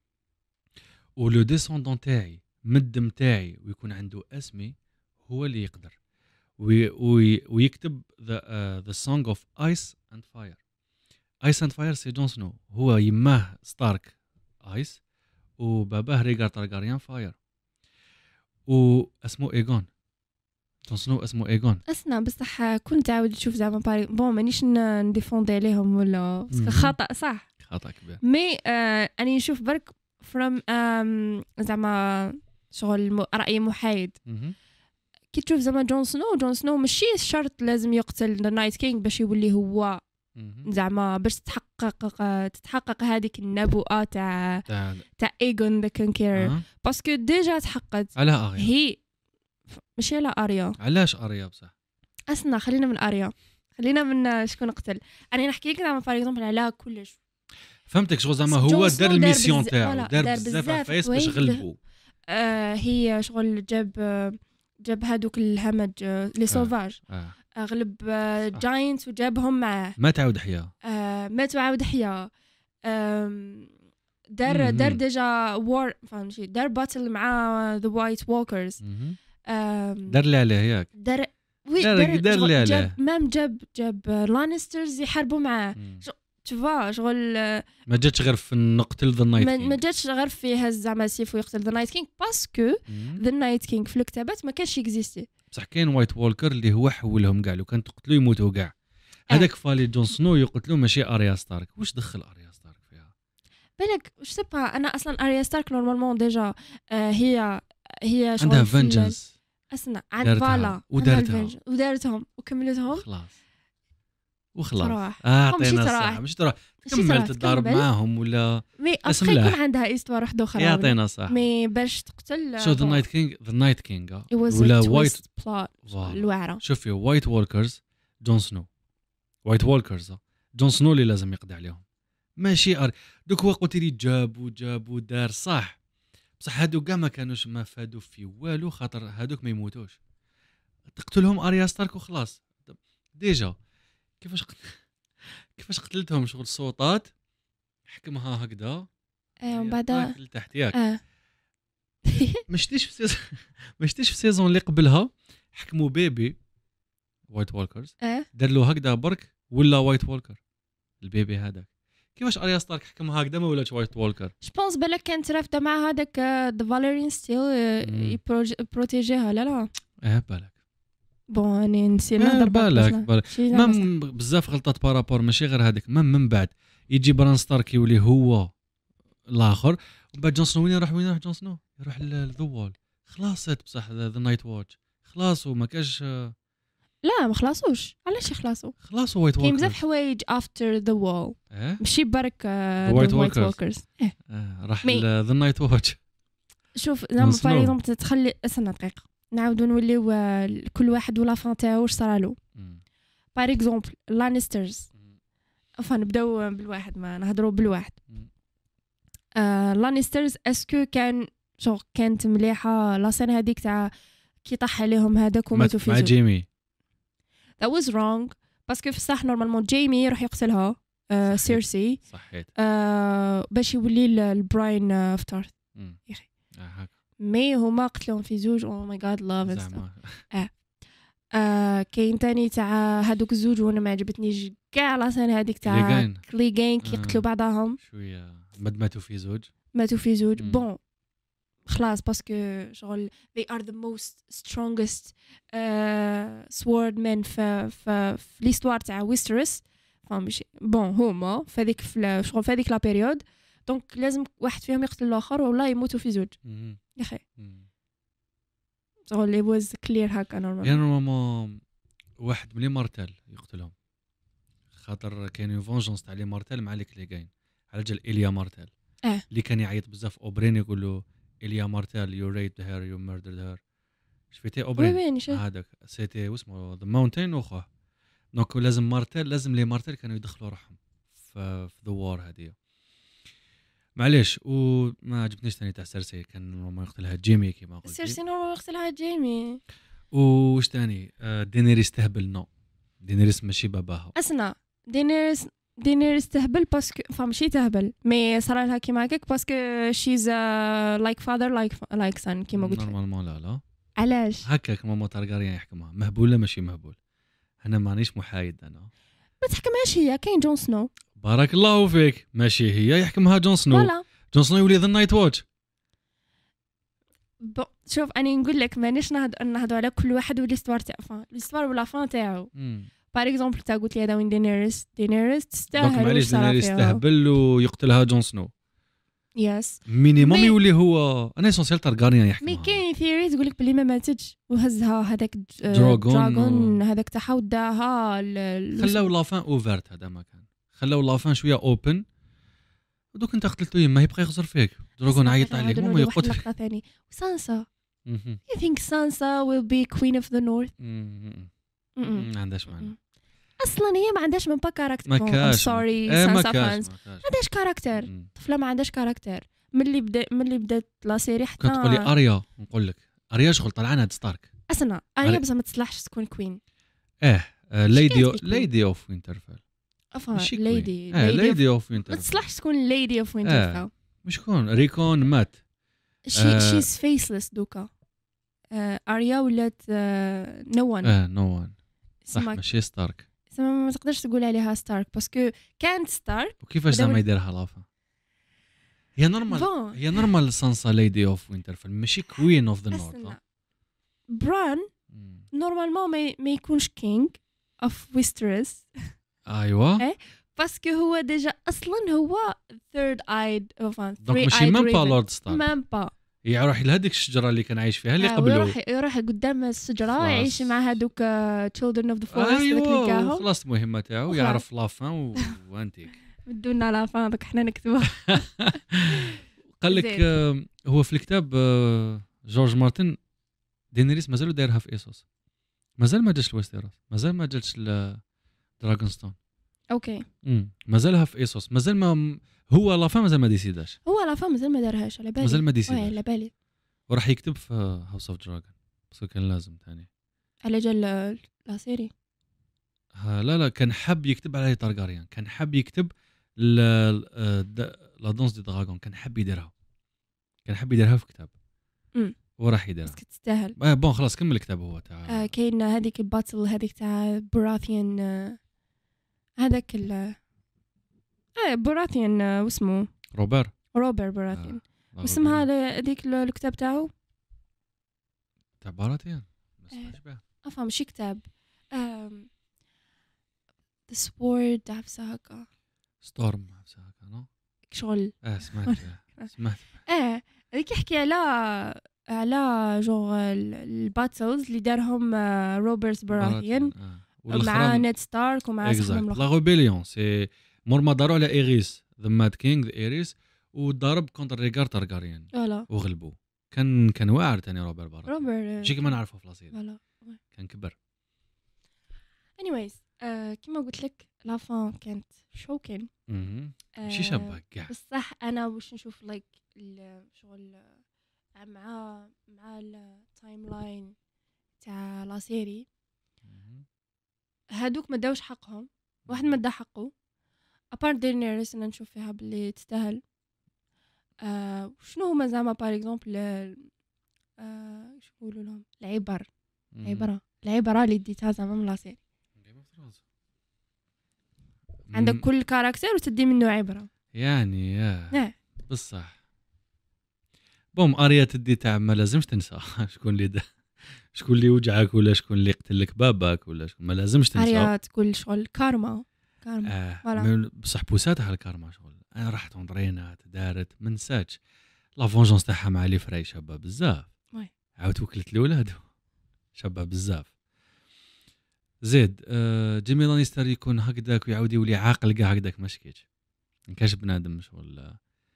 ولو ديسوندون تاعي مدم تاعي ويكون عنده اسمي هو اللي يقدر وي وي ويكتب ذا ذا سونغ اوف ايس اند فاير. ايس اند فاير سي جون سنو هو يماه ستارك ايس وباباه ريغار تارغاريان فاير واسمه ايغون جون سنو اسمه ايغون. اسنا بصح كنت عاود تشوف زعما باري بون مانيش نديفوندي عليهم ولا باسكو خطا صح خطا كبير مي آه اني نشوف برك فروم زعما شغل راي محايد. كي تشوف زعما جون سنو جون سنو ماشي شرط لازم يقتل ذا نايت كينغ باش يولي هو زعما باش تتحقق تتحقق هذيك النبوءه تاع تاع ايغون ذا كونكيرر باسكو ديجا تحققت على اريا هي ماشي على اريا. علاش اريا بصح؟ اسنا خلينا من اريا خلينا من شكون قتل. انا نحكي لك زعما باغ اكزومبل على كلش فهمتك شغل زعما هو دار الميسيون تاعو دار بزاف عفايس باش غلبوا. آه هي شغل جاب جاب هادوك الهمج لي سوفاج آه. آه. غلب آه جاينتس وجابهم معاه ما تعاود حياه آه ما تعاود حياه. دار دار ديجا وور فهمتي دار باتل مع ذا وايت ووكرز دار اللي عليه ياك دار وي دار دار اللي عليه جاب مام جاب جاب لانسترز يحاربوا معاه تفا شغل ما جاتش غير في نقتل ذا نايت كينغ ما جاتش غير فيه زعما سيف ويقتل ذا نايت كينغ باسكو ذا نايت كينغ في الكتابات ما كانش اكزيستي بصح كاين وايت وولكر اللي هو حولهم كاع لو كان تقتلوا يموتوا كاع هذاك أه. فالي جون سنو يقتلوا ماشي اريا ستارك واش دخل اريا ستارك فيها بالك واش سبا انا اصلا اريا ستارك نورمالمون ديجا آه هي هي عندها فينجنس اسمع عند فالا ودارتها ودارتهم وكملتهم خلاص وخلاص اعطينا الصح مش تروح تكمل تضارب معاهم ولا مي ابخي يكون عندها استوار واحده اخرى يعطينا صح مي باش تقتل سو ذا نايت كينغ ذا نايت كينغ ولا وايت الواعره شوفي وايت وولكرز جون سنو وايت وولكرز جون سنو اللي لازم يقضي عليهم ماشي أر... دوك هو قلت لي جاب وجاب ودار صح بصح هادو كاع ما كانوش ما فادوا في والو خاطر هادوك ما يموتوش تقتلهم اريا ستارك وخلاص ديجا كيفاش قت... كيفاش قتلتهم شغل الصوتات حكمها هكذا ايوا من بعد لتحت ياك اه ما شتيش في سيزون ما شتيش في السيزون اللي قبلها حكموا بيبي وايت وولكرز اه دار له هكذا برك ولا وايت وولكر البيبي هذاك كيفاش اريا ستارك حكمها هكذا ما ولاتش وايت وولكر جو بونس بالك كانت رافده مع هذاك ذا فاليريان ستيل يبروتيجيها لا لا اه بالك بون اني نسينا نهضر بالك بالك مام بزاف غلطات بارابور ماشي غير هذاك مام من بعد يجي بران ستارك يولي هو الاخر ومن بعد جون سنو وين يروح وين يروح جون سنو يروح للذوال خلاصت بصح ذا نايت واتش خلاص وما كاش لا ما خلاصوش علاش يخلصوا خلاص وايت وولكرز كاين بزاف حوايج افتر ذا وول ماشي برك وايت وولكرز راح ذا نايت واتش شوف زعما باغ اكزومبل تخلي استنى دقيقه نعاودوا نوليو كل واحد ولا فان تاعو واش صرالو باغ اكزومبل لانسترز enfin نبداو بالواحد ما نهضروا بالواحد لانسترز اسكو كان شو كانت مليحه لا سين هذيك تاع كي طاح عليهم هذاك وماتوا في مع جيمي that was wrong باسكو في الصح نورمالمون جيمي يروح يقتلها سيرسي صحيت باش يولي البراين اوف تارث يا اخي مي هما قتلوهم في زوج او ماي جاد لاف اه آه كاين تاني تاع هادوك الزوج وانا ما عجبتنيش كاع لاسين هذيك تاع لي جين كي يقتلوا بعضهم شويه ماتوا في زوج ماتوا في زوج بون خلاص باسكو شغل they are the most strongest uh, swordmen في في في ليستوار تاع ويسترس فماشي بون هما في هذيك شغل في هذيك لا بيريود دونك لازم واحد فيهم يقتل الاخر ولا يموتوا في زوج يا اخي شغل it was clear هكا نورمال يعني نورمالمون واحد ملي مارتل يقتلهم خاطر كاين فونجونس تاع لي مارتل مع ليك لي كاين على جال إليا مارتل اه اللي كان يعيط بزاف اوبرين يقول له إليا مارتل يو ريد هير يو ميردرد هير شفتي اوبرين هذاك سيتي واسمه ذا ماونتين واخوه دونك لازم مارتل لازم لي مارتل كانوا يدخلوا روحهم في ذا وار هذه معليش وما عجبنيش ثاني تاع سيرسي كان نورمال يقتلها جيمي كيما قلت سيرسي نورمال يقتلها جيمي واش ثاني دينيريس تهبل نو دينيريس ماشي باباها اسنا دينيريس دينيريس تهبل باسكو فماشي تهبل مي صرا لها كيما هكاك باسكو شيز لايك فادر لايك لايك سان كيما قلت نورمالمون لا لا علاش هكاك ماما تارغاريان يحكمها مهبوله ماشي مهبول انا مانيش محايد انا ما تحكمهاش هي كاين جون سنو بارك الله فيك ماشي هي يحكمها جون سنو ولا. جون سنو يولي ذا نايت واتش شوف اني نقول لك مانيش نهضروا على كل واحد وليستوار تاع فان ليستوار ولا فان تاعو باغ اكزومبل تا قلت لي هذا وين دينيريس دينيريس تستاهل معليش دينيريس تهبل ويقتلها جون سنو يس مينيموم يولي هو انا اسونسيال تارغاريان يحكمها مي كاين ثيوري تقول لك بلي ما ماتتش وهزها هذاك دراغون هذاك تاعها وداها خلاو لافان اوفرت هذا ما كان خلاو لافان شويه اوبن دوك انت قتلتو يما يبقى يخزر فيك دراغون عيط عليك وما يقتل لقطه ثاني سانسا you think Sansa will be queen of the north ما عندهاش معنى اصلا هي ما عندهاش من با كاركتر ما كاش سوري سانسا فانز ما عندهاش كاركتر طفله ما عندهاش كاركتر ملي بدا ملي بدات لا سيري حتى كنت تقولي اريا نقول لك اريا شغل طلعنا هاد ستارك اصلا اريا بصح ما تصلحش تكون كوين اه ليدي ليدي اوف وينترفيل افا ليدي اه ليدي اوف وينترفيل ما تصلحش تكون ليدي اوف وينترفيل شكون ريكون مات شي شيز فيسلس دوكا اريا ولات نو وان اه نو وان صح ماشي ستارك ما تقدرش تقول عليها ستارك باسكو كانت ستارك. وكيفاش زعما يديرها لافا هي نورمال هي نورمال سانسا ليدي اوف وينترفيل ماشي كوين اوف ذا نورث. بران نورمالمون ما يكونش كينج اوف ويسترس. ايوا باسكو هو ديجا اصلا هو ثيرد ايد اوف دونك ماشي ميم با لورد ستارك ميم با يروح لهذيك الشجره اللي كان عايش فيها اللي قبله يروح يروح قدام الشجره يعيش مع هذوك تشيلدرن اوف ذا فورست ايوا خلاص المهمه تاعو يعرف لافان وانتيك بدونا لافان دوك حنا نكتبوها. قال لك هو في الكتاب جورج مارتن دينيريس مازالوا دايرها في ايسوس مازال ما جاش لويستيروس مازال ما جاتش دراغونستون اوكي امم مازالها في ايسوس مازال ما هو لافا مازال ما ديسيداش هو لافا مازال ما دارهاش على بالي مازال ما ديسيداش على بالي وراح يكتب في هاوس اوف دراجون بس كان لازم ثاني على جال لا سيري لا لا كان حاب يكتب على تارغاريان كان حاب يكتب لا لا دونس دي دراغون كان حاب يديرها كان حاب يديرها في كتاب امم وراح يديرها بس تستاهل اه بون خلاص كمل الكتاب هو تاع آه كاين هذيك الباتل هذيك تاع براثيان آه هذاك ال اه براثيان آه واسمه روبر روبر براثيان آه. واسمها هذيك الكتاب تاعو تاع براثيان ما سمعتش بها افهم ماشي كتاب آم... The Sword عفسه هكا ستورم عفسه هكا نو شغل اه سمعت سمعت اه هذيك يحكي على على جو الباتلز اللي دارهم روبرت براثيان مع نيد ستارك ومع صاحبهم لا ريبيليون سي مور ما داروا على ايريس ذا ماد كينغ ايريس وضرب كونتر ريغار تارغاريان وغلبوا كان كان واعر ثاني روبر براثيان روبر شي كما نعرفه في لاصير كان كبر anyways آه كما قلت لك لافان كانت شوكين ماشي شابه كاع بصح انا واش نشوف لايك شغل مع مع التايم لاين تاع لا سيري هادوك ما داوش حقهم واحد ما دا حقه ابار دينيريس انا نشوف فيها باللي تستاهل آه شنو هما زعما بار اكزومبل آه شو يقولوا لهم العبر العبره العبره اللي ديتها زعما من لا سيري عندك كل كاركتر وتدي منه عبره يعني يا بصح بوم اريا تدي تاع ما لازمش تنسى شكون اللي ده شكون اللي وجعك ولا شكون اللي قتل لك باباك ولا شكون ما لازمش تنسى اريا تقول شغل كارما كارما آه بصح بوساتها الكارما شغل انا رحت وندرينات دارت ما نساتش لا فونجونس تاعها مع لي فري شابه بزاف عاود وكلت الاولاد شابه بزاف زيد آه جيمي لانيستر يكون هكذاك ويعاود يولي عاقل كاع هكذاك ما شكيتش ما كاش بنادم شغل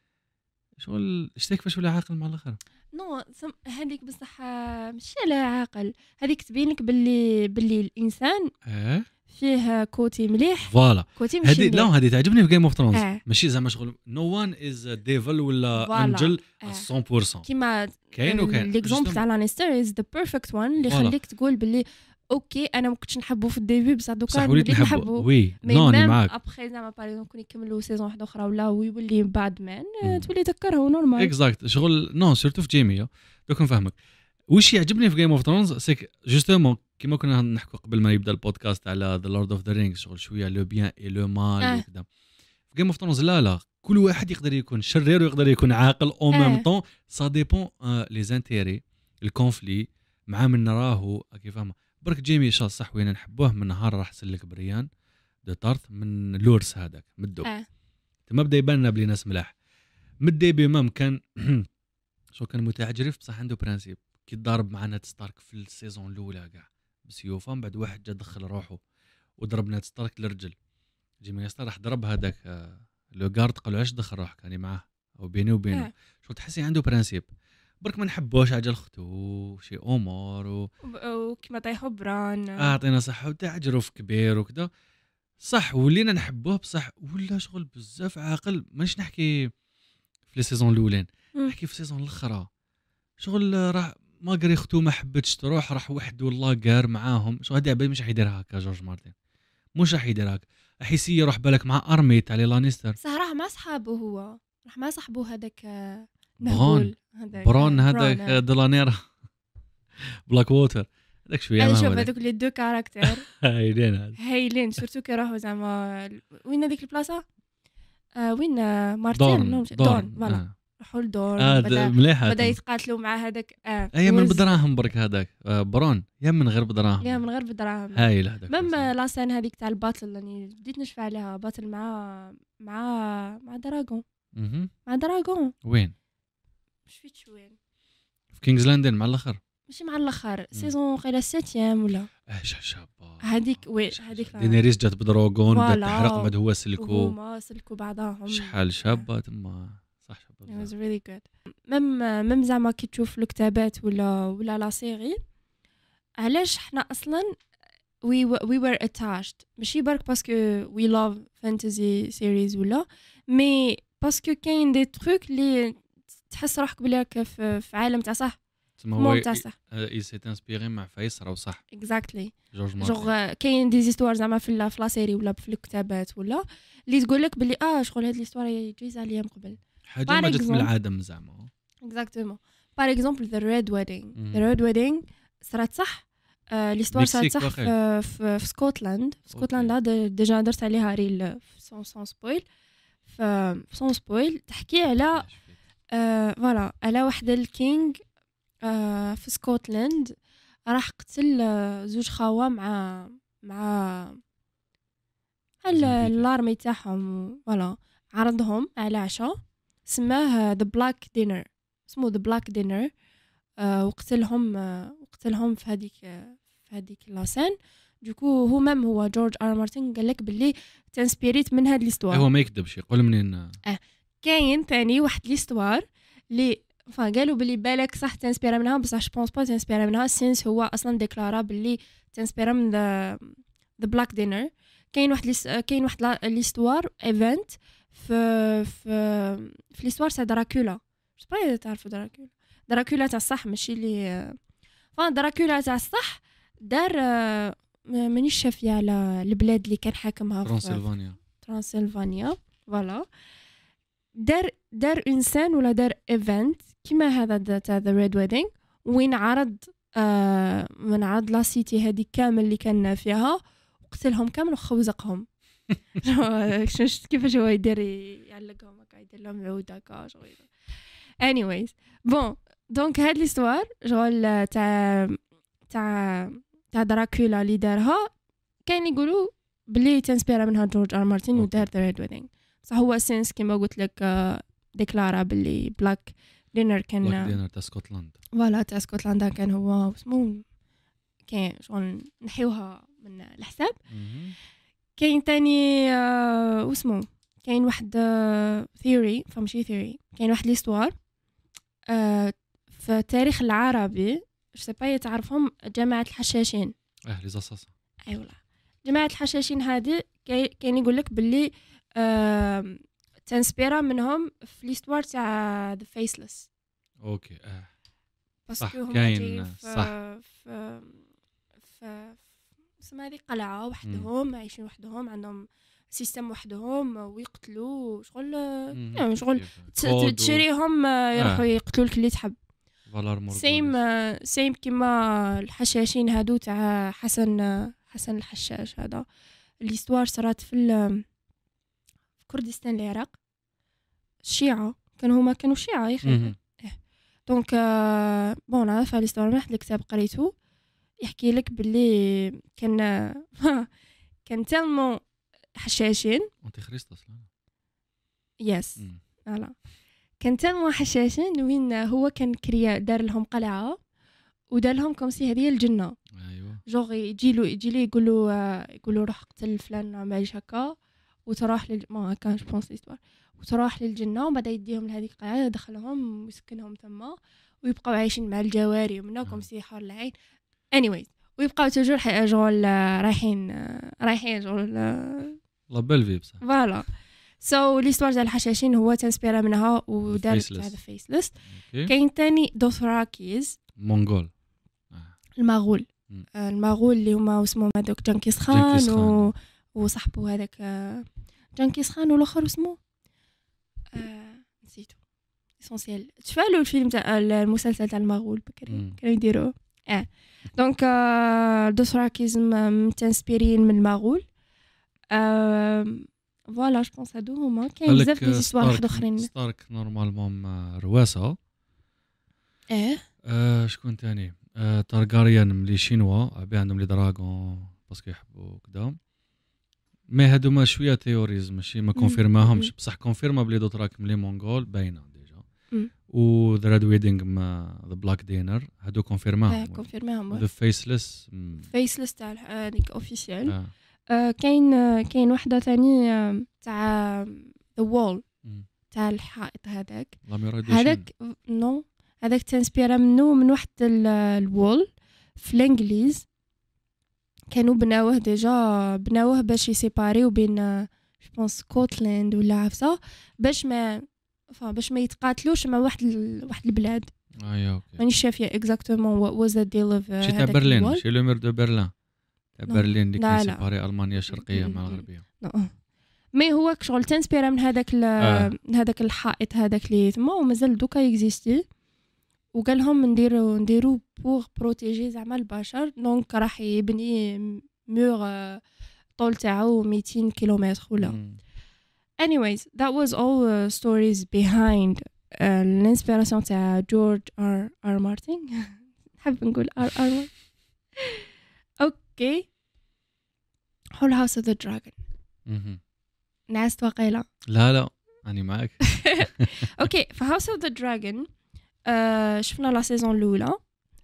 شغل شتي كيفاش ولا عاقل مع الاخر نو هذيك بصح ماشي على عاقل هذيك تبين لك باللي باللي الانسان اه فيه كوتي مليح فوالا كوتي ماشي هذه لا هذه تعجبني في جيم اوف ثرونز آه. ماشي زعما شغل نو وان از ديفل ولا انجل مية بالمية كيما كاين وكاين ليكزومبل تاع لانيستر از ذا بيرفكت وان اللي يخليك تقول باللي اوكي انا ما كنتش نحبه في الديبي بصح دوكا وليت نحبه وي نوني معاك ابخي زعما باغ كون يكملوا سيزون واحده اخرى ولا ويولي بعد مان تولي تذكره نورمال اكزاكت شغل نو سيرتو في جيمي دوك نفهمك واش يعجبني في جيم اوف ثرونز سيك جوستومون كيما كنا نحكوا قبل ما يبدا البودكاست على ذا لورد اوف ذا رينجز شغل شويه لو بيان اي لو مال وكذا في جيم اوف ثرونز لا لا كل واحد يقدر يكون شرير ويقدر يكون عاقل او ميم طون سا ديبون لي زانتيري الكونفلي مع من نراهو كيف فاهمه برك جيمي شا صح وين نحبوه من نهار راح سلك بريان دو طارث من لورس هذاك مدو اه تما بدا يبان لنا بلي ناس ملاح مدي بمام كان شو كان متعجرف بصح عنده برانسيب كي ضارب مع نات ستارك في السيزون الاولى كاع بسيوفه من بعد واحد جا دخل روحه وضرب نات ستارك للرجل جيمي ستار راح ضرب هذاك لو غارد قالوا علاش دخل روحك يعني معاه او بيني وبينه آه. شو تحسي عنده برانسيب برك ما نحبوش عجل اختو شي امور و... وكما طيحوا بران اعطينا صح وتعجرف كبير وكذا صح ولينا نحبوه بصح ولا شغل بزاف عاقل مانيش نحكي في لي سيزون الاولين نحكي في السيزون الاخرى شغل راح ما قري اختو ما حبتش تروح راح وحده والله قار معاهم شو هادي عبالي مش راح يدير هكا جورج مارتن مش راح يدير هكا راح يسير يروح بالك مع ارمي تاع لي لانيستر صح راه مع صحابه هو راح مع صاحبو هذاك برون برون هذاك دولانير بلاك ووتر هذاك شويه انا ما شوف هو هذوك لي دو كاركتير هايلين هذا هايلين سورتو كي راهو زعما وين هذيك البلاصه آه وين مارتين دورن فوالا راحوا لدورن آه بدا مليحه بدا يتقاتلوا مع هذاك اه هي من بدراهم برك هذاك آه برون يا من غير بدراهم يا من غير بدراهم هايل هذاك ميم لاسين هذيك تاع الباتل راني بديت نشفع عليها باتل مع مع مع دراغون مع دراغون وين مش فيت وين في كينجز لاندين مع الاخر ماشي مع الاخر سيزون قيله سيتيام ولا اه شابه هذيك وين هذيك دينيريس جات بدراغون بدات تحرق مد هو سلكو هما سلكوا بعضهم شحال شابه تما صح شابه it was really good ميم ميم زعما كي تشوف الكتابات ولا ولا لا سيري علاش حنا اصلا we we were attached ماشي برك باسكو we love fantasy series ولا مي باسكو كاين دي تروك لي تحس روحك بلي في في عالم تاع صح هو تاع صح اي سي انسبيري مع فايس راه صح اكزاكتلي جورج مارتن كاين دي زيستوار زعما في لا سيري ولا في الكتابات ولا اللي تقول لك بلي اه شغل هاد ليستوار جايزه عليا من قبل حاجه ما جات من العدم زعما اكزاكتومون باغ اكزومبل ذا ريد ويدينغ ذا ريد ويدينغ صارت صح ليستوار صارت صح في, في, في سكوتلاند في سكوتلندا ديجا درت عليها ريل سون سون سبويل في سون سبويل تحكي على فوالا على واحد الكينغ في سكوتلاند راح قتل زوج خاوه مع مع الارمي تاعهم فوالا عرضهم على عشاء سماه ذا بلاك دينر اسمه ذا بلاك دينر وقتلهم وقتلهم في هذيك في هذيك لاسين دوكو هو مام هو جورج ار مارتن قال لك باللي تنسبيريت من هاد ليستوار هو ما يكذبش يقول منين اه كاين ثاني واحد ليستوار اللي فا قالوا باللي بالك صح تنسبيرا منها بصح جو بونس با تنسبيرا منها سينس هو اصلا ديكلارا باللي تنسبيرا من ذا ذا بلاك دينر كاين واحد ليس كاين واحد ليستوار ايفنت في في في ليستوار تاع دراكولا جو با تعرفوا دراكولا دراكولا تاع الصح ماشي اللي فا دراكولا تاع الصح دار مانيش شافيه على البلاد اللي كان حاكمها في ترانسلفانيا ترانسلفانيا فوالا دار دار انسان ولا دار ايفنت كيما هذا تاع ذا ريد ويدينغ وين عرض آه من عرض لا سيتي هذه كامل اللي كان فيها وقتلهم كامل وخوزقهم شفت كيفاش هو يدير يعلقهم هكا يدير لهم عود هكا شغل anyways بون دونك هاد ليستوار شغل تاع تاع تاع دراكولا اللي دارها كاين يقولوا بلي تنسبيرا منها جورج ار مارتن ودار ذا ريد ويدينغ صح هو سينس كيما قلت لك ديكلارا باللي بلاك دينر كان بلاك دينر تاع اسكتلندا فوالا تاع اسكتلندا كان هو اسمه كاين شغل نحيوها من الحساب كاين تاني آه واسمه كاين واحد ثيوري آه فمشي ثيوري كاين واحد ليستوار آه في التاريخ العربي جو سي با تعرفهم جماعه الحشاشين اه لي زاساس اي والله جماعه الحشاشين هذه كاين يقول لك باللي آه تنسبيرا منهم في ليستوار تاع ذا فيسلس اوكي اه باسكو هما كاين صح في في اسمها هذه قلعه وحدهم عايشين وحدهم عندهم سيستم وحدهم ويقتلوا شغل يعني شغل تشريهم يروحوا يقتلوا لك اللي تحب سيم سيم كيما الحشاشين هادو تاع حسن حسن الحشاش هذا ليستوار صارت في في كردستان العراق الشيعة كانوا هما كانوا شيعة يا اخي دونك بون انا في ليستوار واحد الكتاب قريته يحكي لك باللي كان كان تالمون حشاشين انت خريست اصلا يس فوالا كان تالمون حشاشين وين هو كان كريا دار لهم قلعه ودار لهم كوم سي هذه الجنه ايوا جوغ يجي له يجي لي يقول له يقول له روح قتل فلان ماش هكا وتروح لل ما كان جو بونس ليستوار وتروح للجنه وبعد يديهم لهذيك القلعه يدخلهم ويسكنهم تما ويبقوا عايشين مع الجواري ومنا كوم سي حار العين anyways ويبقاو توجور شغل رايحين رايحين شغل لا بيل في بصح فوالا سو ليستوار تاع الحشاشين هو تنسبيرا منها ودار هذا فيسلس كاين ثاني دوثراكيز مونغول المغول آه المغول اللي هما اسمهم هذوك جنكيز خان و... وصاحبه هذاك جنكيز خان والاخر اسمه آه ليسونسيال. تفعلوا الفيلم تاع المسلسل تاع المغول بكري كانوا يديروه اه دونك دوثراكيزم متانسبيرين من المغول. فوالا جو بونس هادو هما. كاين بزاف دي سيستوار واحد اخرين. ستارك نورمالمون رواسه. اه آه شكون تاني؟ آه تارغاريان ملي شينوا بي عندهم لي دراغون باسكو يحبوا كدا. مي هادو ما شويه تيوريز ماشي ما كونفيرماهمش بصح كونفيرما بلي دوتراك ملي مونغول باينه ديجا. و ذا ريد ويدينغ مع ذا بلاك دينر هادو كونفيرماهم. كونفيرماهم. ذا فيسلس فيسلس تاع هذيك اوفيسيال. كاين كاين وحده ثاني تاع ذا وول تاع الحائط هذاك. هذاك نو هذاك تنسبيرا منه من واحد الوول في الانجليز كانوا بناوه ديجا بناوه باش يسيباريو بين جو بونس سكوتلاند ولا عفسه باش ما فا باش ما يتقاتلوش مع واحد ال... واحد البلاد. ايوا اوكي ماني شافيه اكزاكتومون وات واز ذا ديل اوف شي تاع برلين شي لو مير دو برلين تاع برلين اللي كان سيباري المانيا الشرقيه مع الغربيه. مي هو شغل تنسبيرا من هذاك ال... آه. هذاك الحائط هذاك اللي تما ومازال دوكا اكزيستي وقال لهم نديرو نديرو بور بروتيجي زعما البشر. دونك راح يبني مور طول تاعو مئتين كيلومتر ولا. anyways that was all uh, stories behind uh, الانسبيراسيون تاع جورج ار ار مارتن. نحب نقول ار ار اوكي. هول هاوس اوف ذا دراجون نعست وقيله. لا لا اني معك. اوكي في هاوس اوف ذا دراجون شفنا لا سيزون الاولى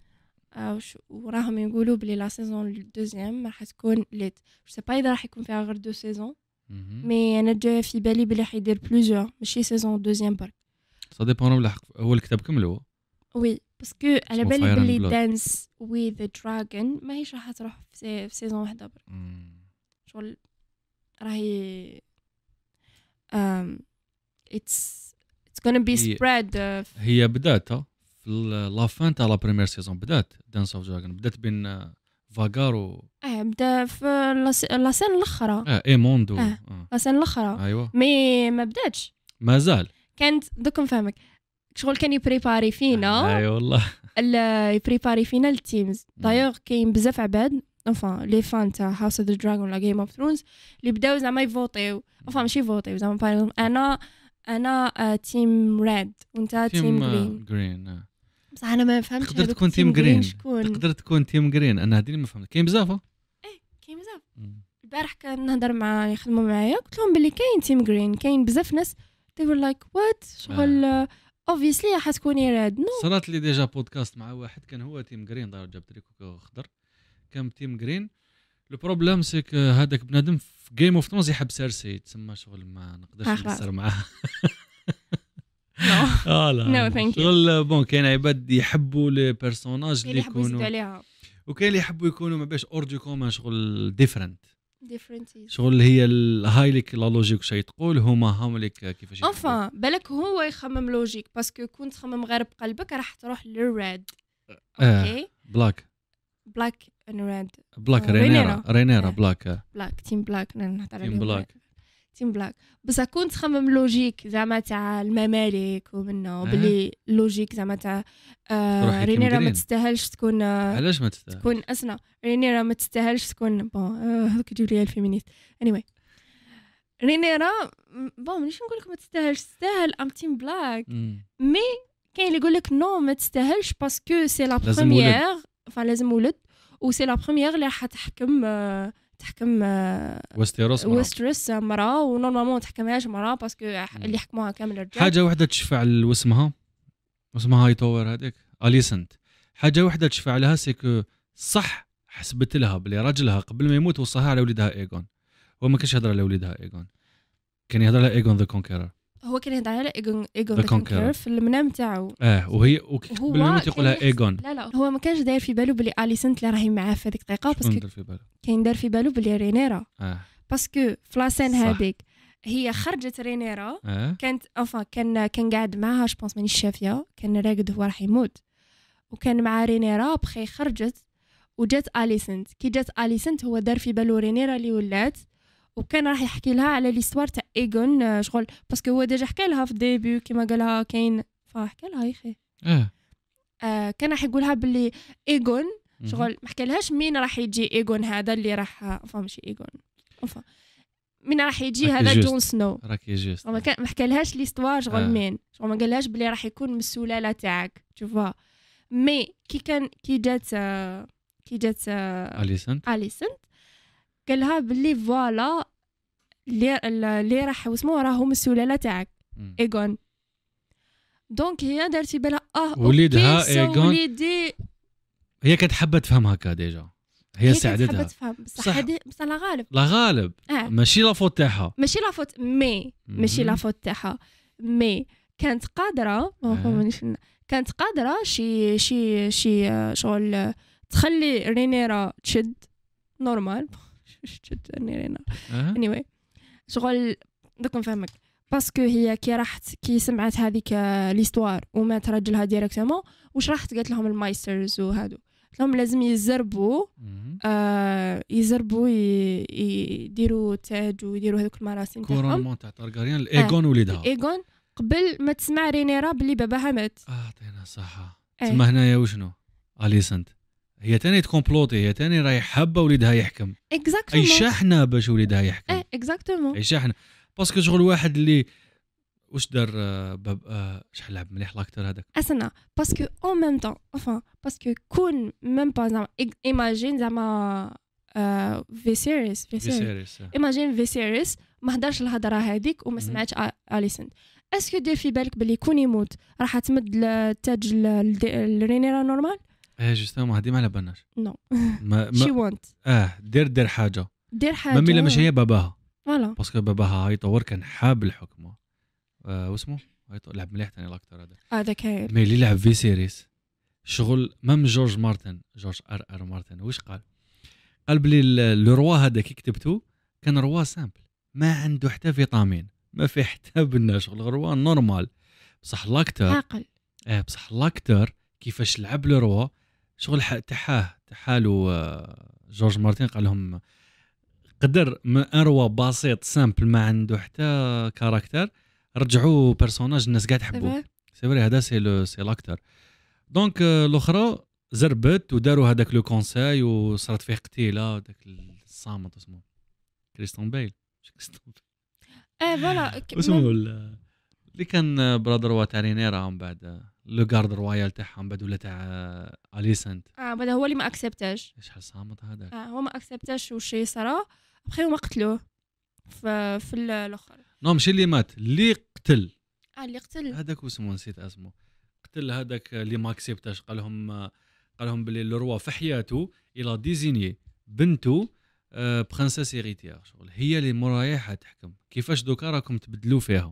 وراهم يقولوا بلي لا سيزون الدوزيام راح تكون ليت. جو سي با اذا راح يكون فيها غير دو سيزون مي انا جايه في بالي بلي حيدير بلوزيور ماشي سيزون دوزيام برك. سا ديبون من الحق. هو الكتاب كملوا وي باسكو على بالي بلي دانس وي ذا دراجون ما هيش راح تروح في سيزون واحده برك. شغل راهي ام اتس it's gonna be spread. uh, هي بدات في لا فان تاع لا بريمير سيزون بدات دانس اوف دراجون بدات بين فاغار و اه بدا في لا سين الاخرى اه اي موندو اه لا سين الاخرى. ايوا مي ما بداتش مازال. كانت دوك نفهمك شغل كان يبريباري فينا. اي والله يبريباري فينا التيمز. دايوغ كاين بزاف عباد انفان لي فان تاع هاوس اوف ذا دراجون ولا جيم اوف ثرونز اللي بداو زعما يفوتيو انفان ماشي يفوتيو زعما انا انا تيم ريد وانت تيم جرين. جرين بصح انا ما فهمتش. تقدر تكون تيم جرين تقدر تكون تيم جرين. انا هذه ما فهمت. كاين بزاف ايه كاين بزاف. البارح كان نهضر مع يخدموا معايا قلت لهم بلي كاين تيم جرين كاين بزاف ناس they were like what شغل obviously حتكوني ريد. نو صرات لي ديجا بودكاست مع واحد كان هو تيم جرين دار جاب تريكو خضر كان تيم جرين. لو بروبليم سيك هذاك بنادم في جيم اوف ثرونز يحب سيرسي تسمى شغل ما نقدرش نسر معاه. اه لا نو شغل بون كاين عباد يحبوا لي بيرسوناج اللي يكونوا وكاين اللي يحبوا يكونوا ما باش اور دو كومون شغل ديفرنت ديفرنتيز شغل هي الهاي ليك لا لوجيك شي تقول هما هم لك كيفاش انفا بالك هو يخمم لوجيك باسكو كنت تخمم غير بقلبك راح تروح للريد. اوكي بلاك بلاك and red بلاك رينيرا رينيرا بلاك بلاك تيم بلاك نهضر عليهم تيم بلاك تيم بلاك. بس كنت تخمم لوجيك زعما تاع الممالك ومنه بلي لوجيك زعما تاع آه رينيرا ما تستاهلش تكون آه علاش ما تستاهل تكون اسنا رينيرا ما تستاهلش تكون بون هذوك يجيو لي الفيمينيست anyway رينيرا بون مانيش نقول لك ما تستاهلش تستاهل ام تيم بلاك مي كاين اللي يقول لك نو ما تستاهلش باسكو سي لا بروميير فان لازم ولد و سي لا بروميير اللي راح تحكم آه تحكم وستيروس وستريس مرا ونورمالمون تحكمهاش مرا باسكو اللي حكموها كامل رجال. حاجه وحده تشفع لوسمها واسمها هاي تاور هذيك اليسنت. حاجه وحده تشفع لها سيكو صح حسبت لها بلي راجلها قبل ما يموت وصاها على وليدها ايغون. هو ما كانش يهضر على وليدها ايغون كان يهضر على ايغون ذا كونكيرر. هو كان يهضر على ايغون ايغون ذا كونكيرر في المنام تاعو. اه وهي قبل ما يموت يقولها ايغون. لا لا هو ما كانش داير في بالو بلي اليسنت اللي راهي معاه في هذيك الدقيقه باسكو كاين دار في بالو بلي رينيرا اه باسكو فلاسين هذيك هي خرجت رينيرا آه. كانت انفا كان كان قاعد معاها جو بونس مانيش شافيه كان راقد هو راح يموت وكان مع رينيرا بخي خرجت وجات اليسنت كي جات اليسنت هو دار في بالو رينيرا اللي ولات وكان راح يحكي لها على ليستوار تاع ايغون شغل باسكو هو ديجا حكى لها في الديبي كيما قالها كاين فحكى لها يا اخي اه آه كان راح يقولها باللي ايغون مهم. شغل ما حكالهاش مين راح يجي ايغون هذا اللي راح فا ماشي ايغون فا مين راح يجي راكي هذا جوست. جون سنو راكي جيست ما كان ما حكالهاش ليستوار شغل آه. مين شغل ما قالهاش بلي راح يكون من السلاله تاعك تشوفها مي كي كان كي جات آه، كي جات آه، اليسنت اليسنت قالها بلي فوالا اللي اللي راح واسمو راهم السلاله تاعك مم. ايغون دونك هي دارتي بالها اه وليدها أوكي، سو إيغون. وليدي هي كانت حابه تفهم هكا ديجا هي كانت حابة ساعدتها تفهم بصح بصح- هادي بصح لا غالب لا غالب اه ماشي لا فوت تاعها ماشي لا فوت مي ماشي مهم. لا فوت تاعها مي كانت قادره ما آه. فهمنيش كانت قادره شي شي شي آه، شغل آه، تخلي رينيرا تشد نورمال تشد رينيرا آه. anyway شغل دوك نفهمك باسكو هي كي راحت كي سمعت هذيك آه، ليستوار ومات راجلها ديريكتومون واش راحت قالت لهم المايسترز وهادو قالت لهم لازم يزربوا مهم. آه يزربوا ي- يديروا تاج ويديروا هذوك المراسم تاعهم كورونمون تاع تارغاريان الايغون وليدها ايغون قبل ما تسمع رينيرا بلي باباها مات اه عطينا صحه إيه. تما هنايا وشنو اليسنت هي تاني تكومبلوتي هي تاني راهي حابه وليدها يحكم اي اكزاكتومون شحنه باش وليدها يحكم ايه اكزاكتومون اي شحنه باسكو شغل واحد اللي واش دار آه، باب آه، شحال لعب مليح لاكتور هذاك اسنا باسكو اون ميم طون enfin باسكو كون ميم با زعما ايماجين زعما فيسيريس في فيسيريس سيريس ايماجين فيسيريس ما هدرش الهضره هذيك وما مهم. سمعتش اليسنت اسكو دير في بالك بلي كون يموت راح تمد التاج لرينيرا نورمال ايه جوستومون هادي ما على بالناش نو ما, شي ما وانت اه دير دير حاجه دير حاجه مامي لا مش هي باباها فوالا باسكو باباها هايطور كان حاب الحكم آه واسمو هايطور لعب مليح ثاني لاكتور هذا هذا كاين مي اللي لعب في سيريس شغل مام جورج مارتن جورج ار ار مارتن واش قال قال بلي ال- لو روا هذا كي كتبتو كان روا سامبل ما عنده حتى فيتامين ما فيه حتى بنا شغل روا نورمال بصح لاكتور عاقل اه بصح لاكتور كيفاش لعب لو روا شغل ح- تحاه تحالو آه، جورج مارتن قال لهم قدر من ان روا بسيط سامبل ما عنده حتى كاركتر رجعوه بيرسوناج الناس قاعد تحبوه سي فري هذا سي لو سي لاكتور دونك الاخرى زربت وداروا هذاك لو كونساي وصارت فيه قتيله داك الصامت اسمه كريستون بيل مش كريستون بيل ايه فوالا ك- اسمه مم. ال- اللي كان برادر وا تاع رينيرا من بعد لو غارد رويال تاعها من بعد ولا تاع اليسنت اه بعد هو اللي ما اكسبتاش شحال صامت هذاك آه هو ما اكسبتاش وشي صرا بخي هما قتلوه في في ال- الاخر نو ماشي اللي مات اللي قتل اه اللي قتل هذاك واسمه نسيت اسمه قتل هذاك اللي ما اكسبتاش قال لهم قال لهم بلي لو روا في حياته الى ديزيني بنته آه، برنسيس هيريتير شغل هي اللي مرايحه تحكم كيفاش دوكا راكم تبدلوا فيها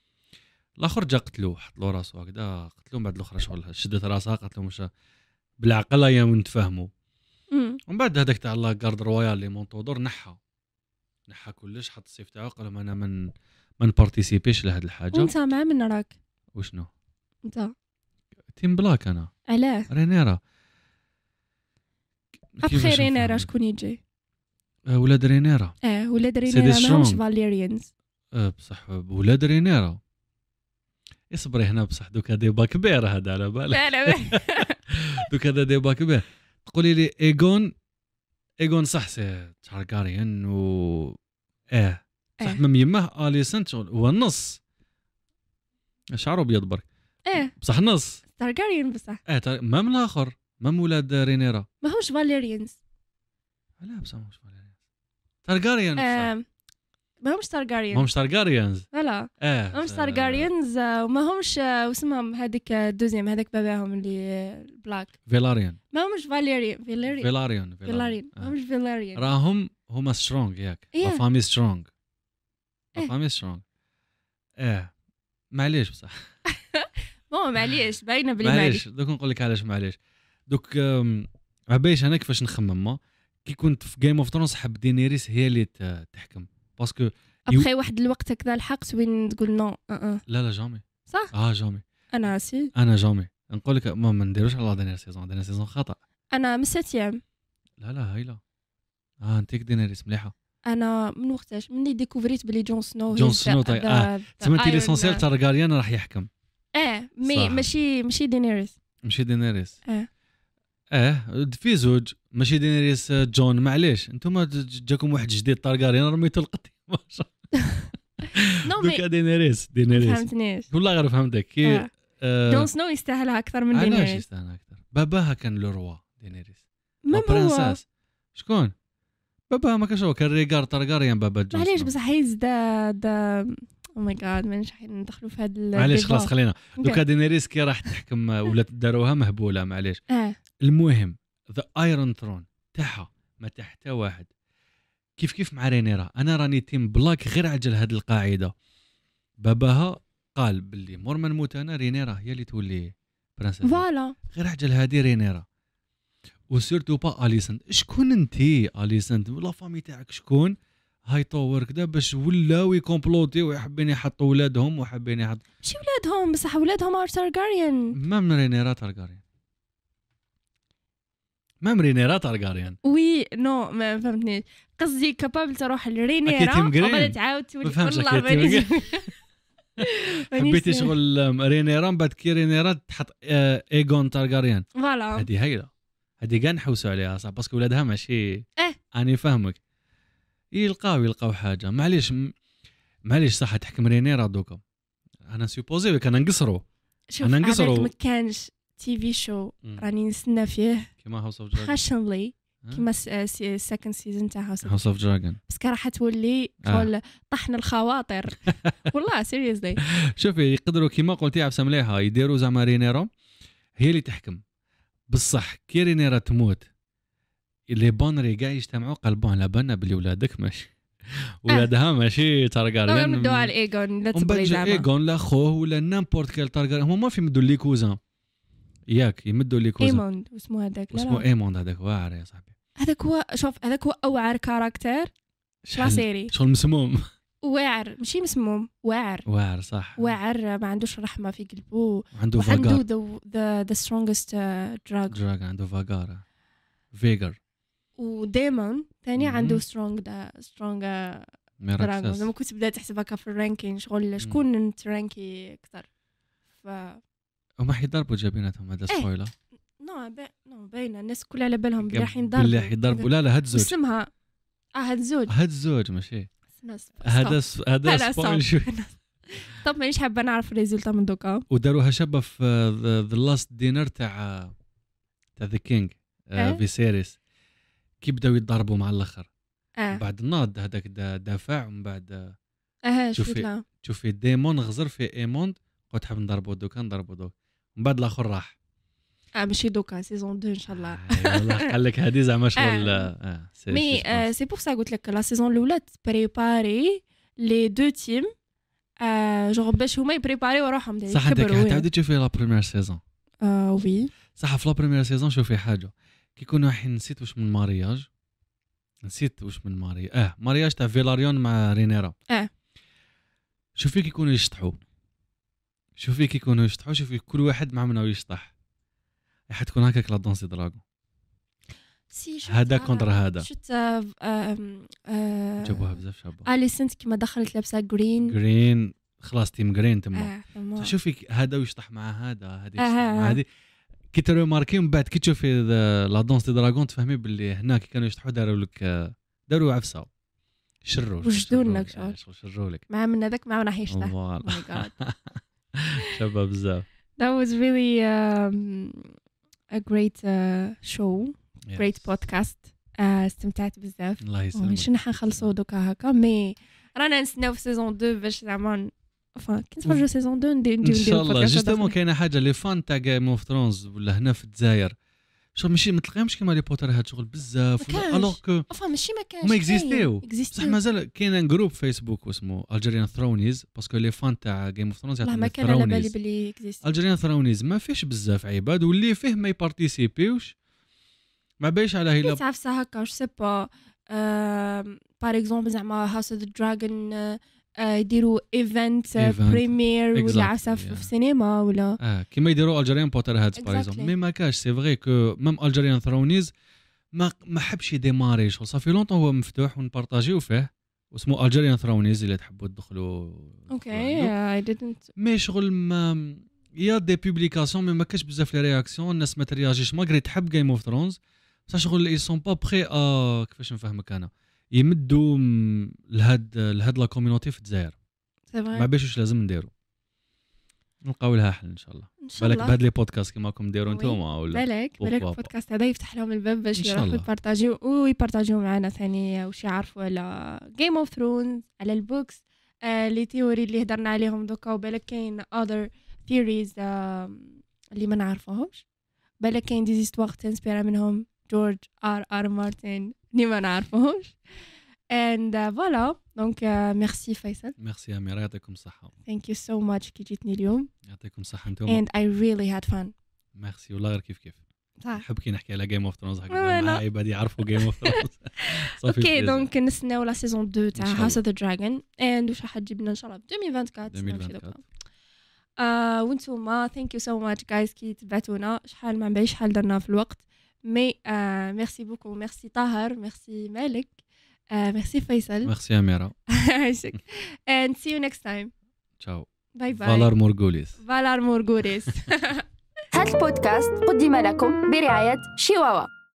الاخر جا قتلوه حط له راسو هكذا قتلوه من بعد الاخرى شغل شدت راسها قالت له مش بالعقل يا نتفاهموا مم. ومن بعد هذاك تاع لا غارد رويال اللي مونطودور نحى نحى كلش حط السيف تاعو قال لهم انا من ما نبارتيسيبيش لهاد الحاجه وانت مع من راك وشنو انت تيم بلاك انا علاه رينيرا ابخي كيفاش رينيرا نفهم؟ شكون يجي آه، ولاد رينيرا اه ولاد دي رينيرا ماهمش strong. فاليريانز آه، بصح ولاد رينيرا اصبري هنا بصح دوكا ديبا كبير هذا على بالك لا لا دوك هذا ديبا كبير تقولي لي ايغون ايغون صح سي تارغاريان و اه صح إيه. من يماه اليسنت شغل هو النص شعره ابيض برك ايه بصح نص تارجاريان بصح اه تار... ما من الاخر ما من ولاد رينيرا ماهمش فاليريانز لا بصح مش تارغاريان بصح آه، ماهمش تارجاريان ما مش تارغاريانز لا اه ماهمش تارجاريانز وماهمش آه، واسمهم هذيك الدوزيام هذاك باباهم اللي آه، بلاك فيلاريان ماهمش فاليريان فيلاريان فيلاريان فيلاريان آه. ماهمش فيلاريان راهم هما سترونغ ياك إيه. لا فامي سترونغ لا إيه. فامي سترونغ اه معليش بصح بون معليش باينه بلي معليش معليش دوك نقول لك علاش معليش دوك آم، عبايش انا كيفاش نخمم ما كي كنت في جيم اوف ثرونز حب دينيريس هي اللي ت- تحكم باسكو ابخي واحد الوقت هكذا الحقت وين تقول نو أه أه. لا لا جامي صح اه جامي انا سي انا جامي نقول لك ما ما نديروش على دينير سيزون دينير سيزون خطا انا من ساتيام لا لا هايله اه انتيك دينيريس مليحه انا من وقتاش مني ديكوفريت بلي جون سنو جون he's the- سنو طيب. the- آه، the تسمى Iron ليسونسيال Man. تارغاريان راح يحكم اه مي صح. ماشي ماشي دينيريس ماشي دينيريس اه اه في زوج ماشي دينيريس جون معليش انتم جاكم واحد جديد طارغاريان رميتو القطي نو مي دوكا دينيريس دينيريس فهمتنيش والله غير فهمتك كي آه. آه جون سنو يستاهلها اكثر من علاش دينيريس يستاهل اكثر باباها كان لو روا دينيريس ما هو برنساس شكون باباها ما كانش هو كان ريغار طارغاريان بابا جون معليش سنو. بصح هيز دا دا او ماي جاد ما نش ندخلوا في هذا معليش خلاص خلينا دوكا دينيريس كي راح تحكم ولا داروها مهبوله معليش اه المهم ذا ايرون ثرون تاعها ما تحت واحد كيف كيف مع رينيرا انا راني تيم بلاك غير عجل هذه القاعده باباها قال باللي مور ما نموت انا رينيرا هي اللي تولي برنسيس فوالا غير عجل هذه رينيرا وسيرتو با اليسنت شكون انتي اليسنت لا فامي تاعك شكون هاي طور كذا باش ولاو يكومبلوتي ويحبين يحطوا ولادهم وحابين يحط ماشي ولادهم بصح ولادهم ار تارغاريان ما من رينيرا تارغاريان ما من رينيرا تارغاريان وي نو ما فهمتنيش قصدي كابابل تروح لرينيرا وبعد تعاود تولي والله مانيش حبيتي شغل رينيرا من بعد كي رينيرا تحط ايغون تارغاريان فوالا هذه هايله هذه كاع نحوسوا عليها صح باسكو ولادها ماشي اه اني فاهمك يلقاو يلقاو حاجه معليش معليش صح تحكم رينيرا دوكا انا سيبوزي كان نقصروا انا نقصروا ما كانش تي في شو راني نستنى فيه كيما هاوس اوف دراجون باشنلي كيما السكند سيزون تاع هاوس اوف دراجون بس كان راح تولي شغل طحن الخواطر والله سيريسلي شوفي يقدروا كيما قلتي عبسه مليحه يديروا زعما رينيرا هي اللي تحكم بصح كي رينيرا تموت اللي بونري كاع يجتمعوا قلبوا على بالنا بلي ولادك ماشي ولادها ماشي تارغاريان نمدوا على ايغون لا تبغي زعما ايغون لا خوه ولا نامبورت كيل تارغاريان هما ما في يمدوا لي كوزان ياك يمدوا لي كوزان ايموند واسمو هذاك لا اسمه ايموند هذاك واعر يا صاحبي هذاك هو شوف هذاك هو اوعر كاركتر لا سيري شغل مسموم واعر ماشي مسموم واعر واعر صح واعر ما عندوش رحمه في قلبه عنده عنده فاغار ذا ذا ذا سترونجست دراج دراج عنده فاغار فيجر وديمون ثاني عنده سترونج دا سترونج ميراكسس لما كنت بدات تحسبها في الرانكين شغل شكون ترانكي اكثر ف هما حيضربوا جابيناتهم هذا سبويلر نو با... نو باينه الناس كلها على بالهم بلي راح ينضربوا بلي راح يضربوا لا لا هاد الزوج اسمها اه هاد الزوج هاد الزوج ماشي هذا هذا سبويل شوي طب مانيش حابه نعرف الريزولتا من دوكا وداروها شابه في ذا لاست دينر تاع تاع ذا كينج في سيريس كي بداو يتضاربوا مع الاخر آه. بعد ناض هذاك دافع ومن بعد اه شوفي شوفي ديمون غزر في ايموند قلت حاب نضربوا دوكا نضربوا دوكا من بعد الاخر راح اه ماشي دوكا سيزون اثنين ان شاء الله والله قال لك هذه زعما شغل اه مي سي بور سا قلت لك لا سيزون الاولى بريباري لي دو تيم جو باش هما يبريباريو روحهم يكبروا صح انت تعاودي تشوفي لا بريمير سيزون اه وي صح في لا بريمير سيزون شوفي حاجه كي يكونوا الحين نسيت واش من مارياج نسيت واش من مارياج اه مارياج تاع فيلاريون مع رينيرا اه شوفي كي يكونوا يشطحوا شوفي كي يكونوا يشطحوا شوفي كل واحد مع منو يشطح راح تكون هكاك لا دونسي دراغون هذا كونتر هذا شفت جابوها بزاف شابه اليسنت كيما دخلت لابسه جرين جرين خلاص تيم جرين تما آه شوفي هذا ويشطح مع هذا هذه آه مع هذه كي ترماركي من بعد كي تشوفي لا دونس دي دراغون تفهمي باللي هنا كي كانوا يشطحوا داروا لك داروا عفسه شروا وجدوا لك شغل شروا لك مع من هذاك ما راح يشطح شابه بزاف that was really um, a great uh, show yes. great podcast uh, استمتعت بزاف الله يسلمك شنو حنخلصوا دوكا هكا مي رانا نستناو في سيزون اثنين باش زعما فا كي نتفرجوا سيزون اثنين ندير ندير ان شاء الله جوستومون كاينه حاجه لي فان تاع جيم اوف ثرونز ولا هنا في الجزائر شغل ماشي ما تلقاهمش كيما لي بوتر هاد شغل بزاف الوغ كو افا ماشي ما كانش ما اكزيستيو بصح مازال كاين جروب فيسبوك اسمه الجيريان ثرونيز باسكو لي فان تاع جيم اوف ثرونز ما كان على بالي بلي اكزيستي الجيريان ثرونيز ما فيش بزاف عباد واللي فيه ما يبارتيسيبيوش ما بايش على هيلا تعرف هكا واش سي با بار اكزومبل زعما هاوس اوف ذا دراجون يديروا ايفنت بريمير ولا عفسه في السينما ولا اه كيما يديروا الجيريان بوتر هادز باغ اكزومبل مي ما كاش سي فري كو ميم الجيريان ثرونيز ما ما حبش يديماري شغل صافي لونطون هو مفتوح ونبارطاجيو فيه واسمه الجيريان ثرونيز اللي تحبوا تدخلوا اوكي اي ديدنت مي شغل ما يا دي بوبليكاسيون مي ما كاش بزاف لي رياكسيون الناس ما ترياجيش ماغري تحب جيم اوف ثرونز بصح شغل اي سون با بري ا كيفاش نفهمك انا يمدوا لهاد لهاد لا كوميونيتي في الجزائر ما باش واش لازم نديروا نلقاو لها حل ان شاء الله بالك بهاد لي بودكاست كيما راكم ديروا نتوما ولا بالك بالك البودكاست هذا يفتح لهم الباب باش يروحوا يبارطاجيو ويبارطاجيو معنا ثاني واش يعرفوا على جيم اوف ثرونز على البوكس آه لي تيوري اللي هضرنا عليهم دوكا وبالك كاين other theories آه اللي ما نعرفوهمش بالك كاين دي زيستوار تنسبيرا منهم جورج ار ار مارتن اللي ما نعرفوهمش and uh, voilà donc uh, merci فيصل ميرسي أميرة يعطيكم الصحة thank you so much كي جيتني اليوم يعطيكم الصحة انتم and I really had fun ميرسي والله غير كيف كيف صح نحب كي نحكي على جيم اوف ثرونز هكذا مع عباد يعرفوا جيم اوف ثرونز اوكي دونك نستناو لا سيزون اثنين تاع هاوس اوف ذا دراجون اند واش راح تجيب لنا ان شاء الله في ألفين وأربعة وعشرين آه وانتوما ثانك يو سو ماتش جايز كي تبعتونا شحال ما نبيش شحال درنا في الوقت مي آه ميرسي بوكو ميرسي طاهر ميرسي مالك آه ميرسي فيصل ميرسي أميرة عايشك and see you next time تشاو باي باي فالار مورغوليس فالار مورغوليس هذا البودكاست قدم لكم برعاية شيواوا.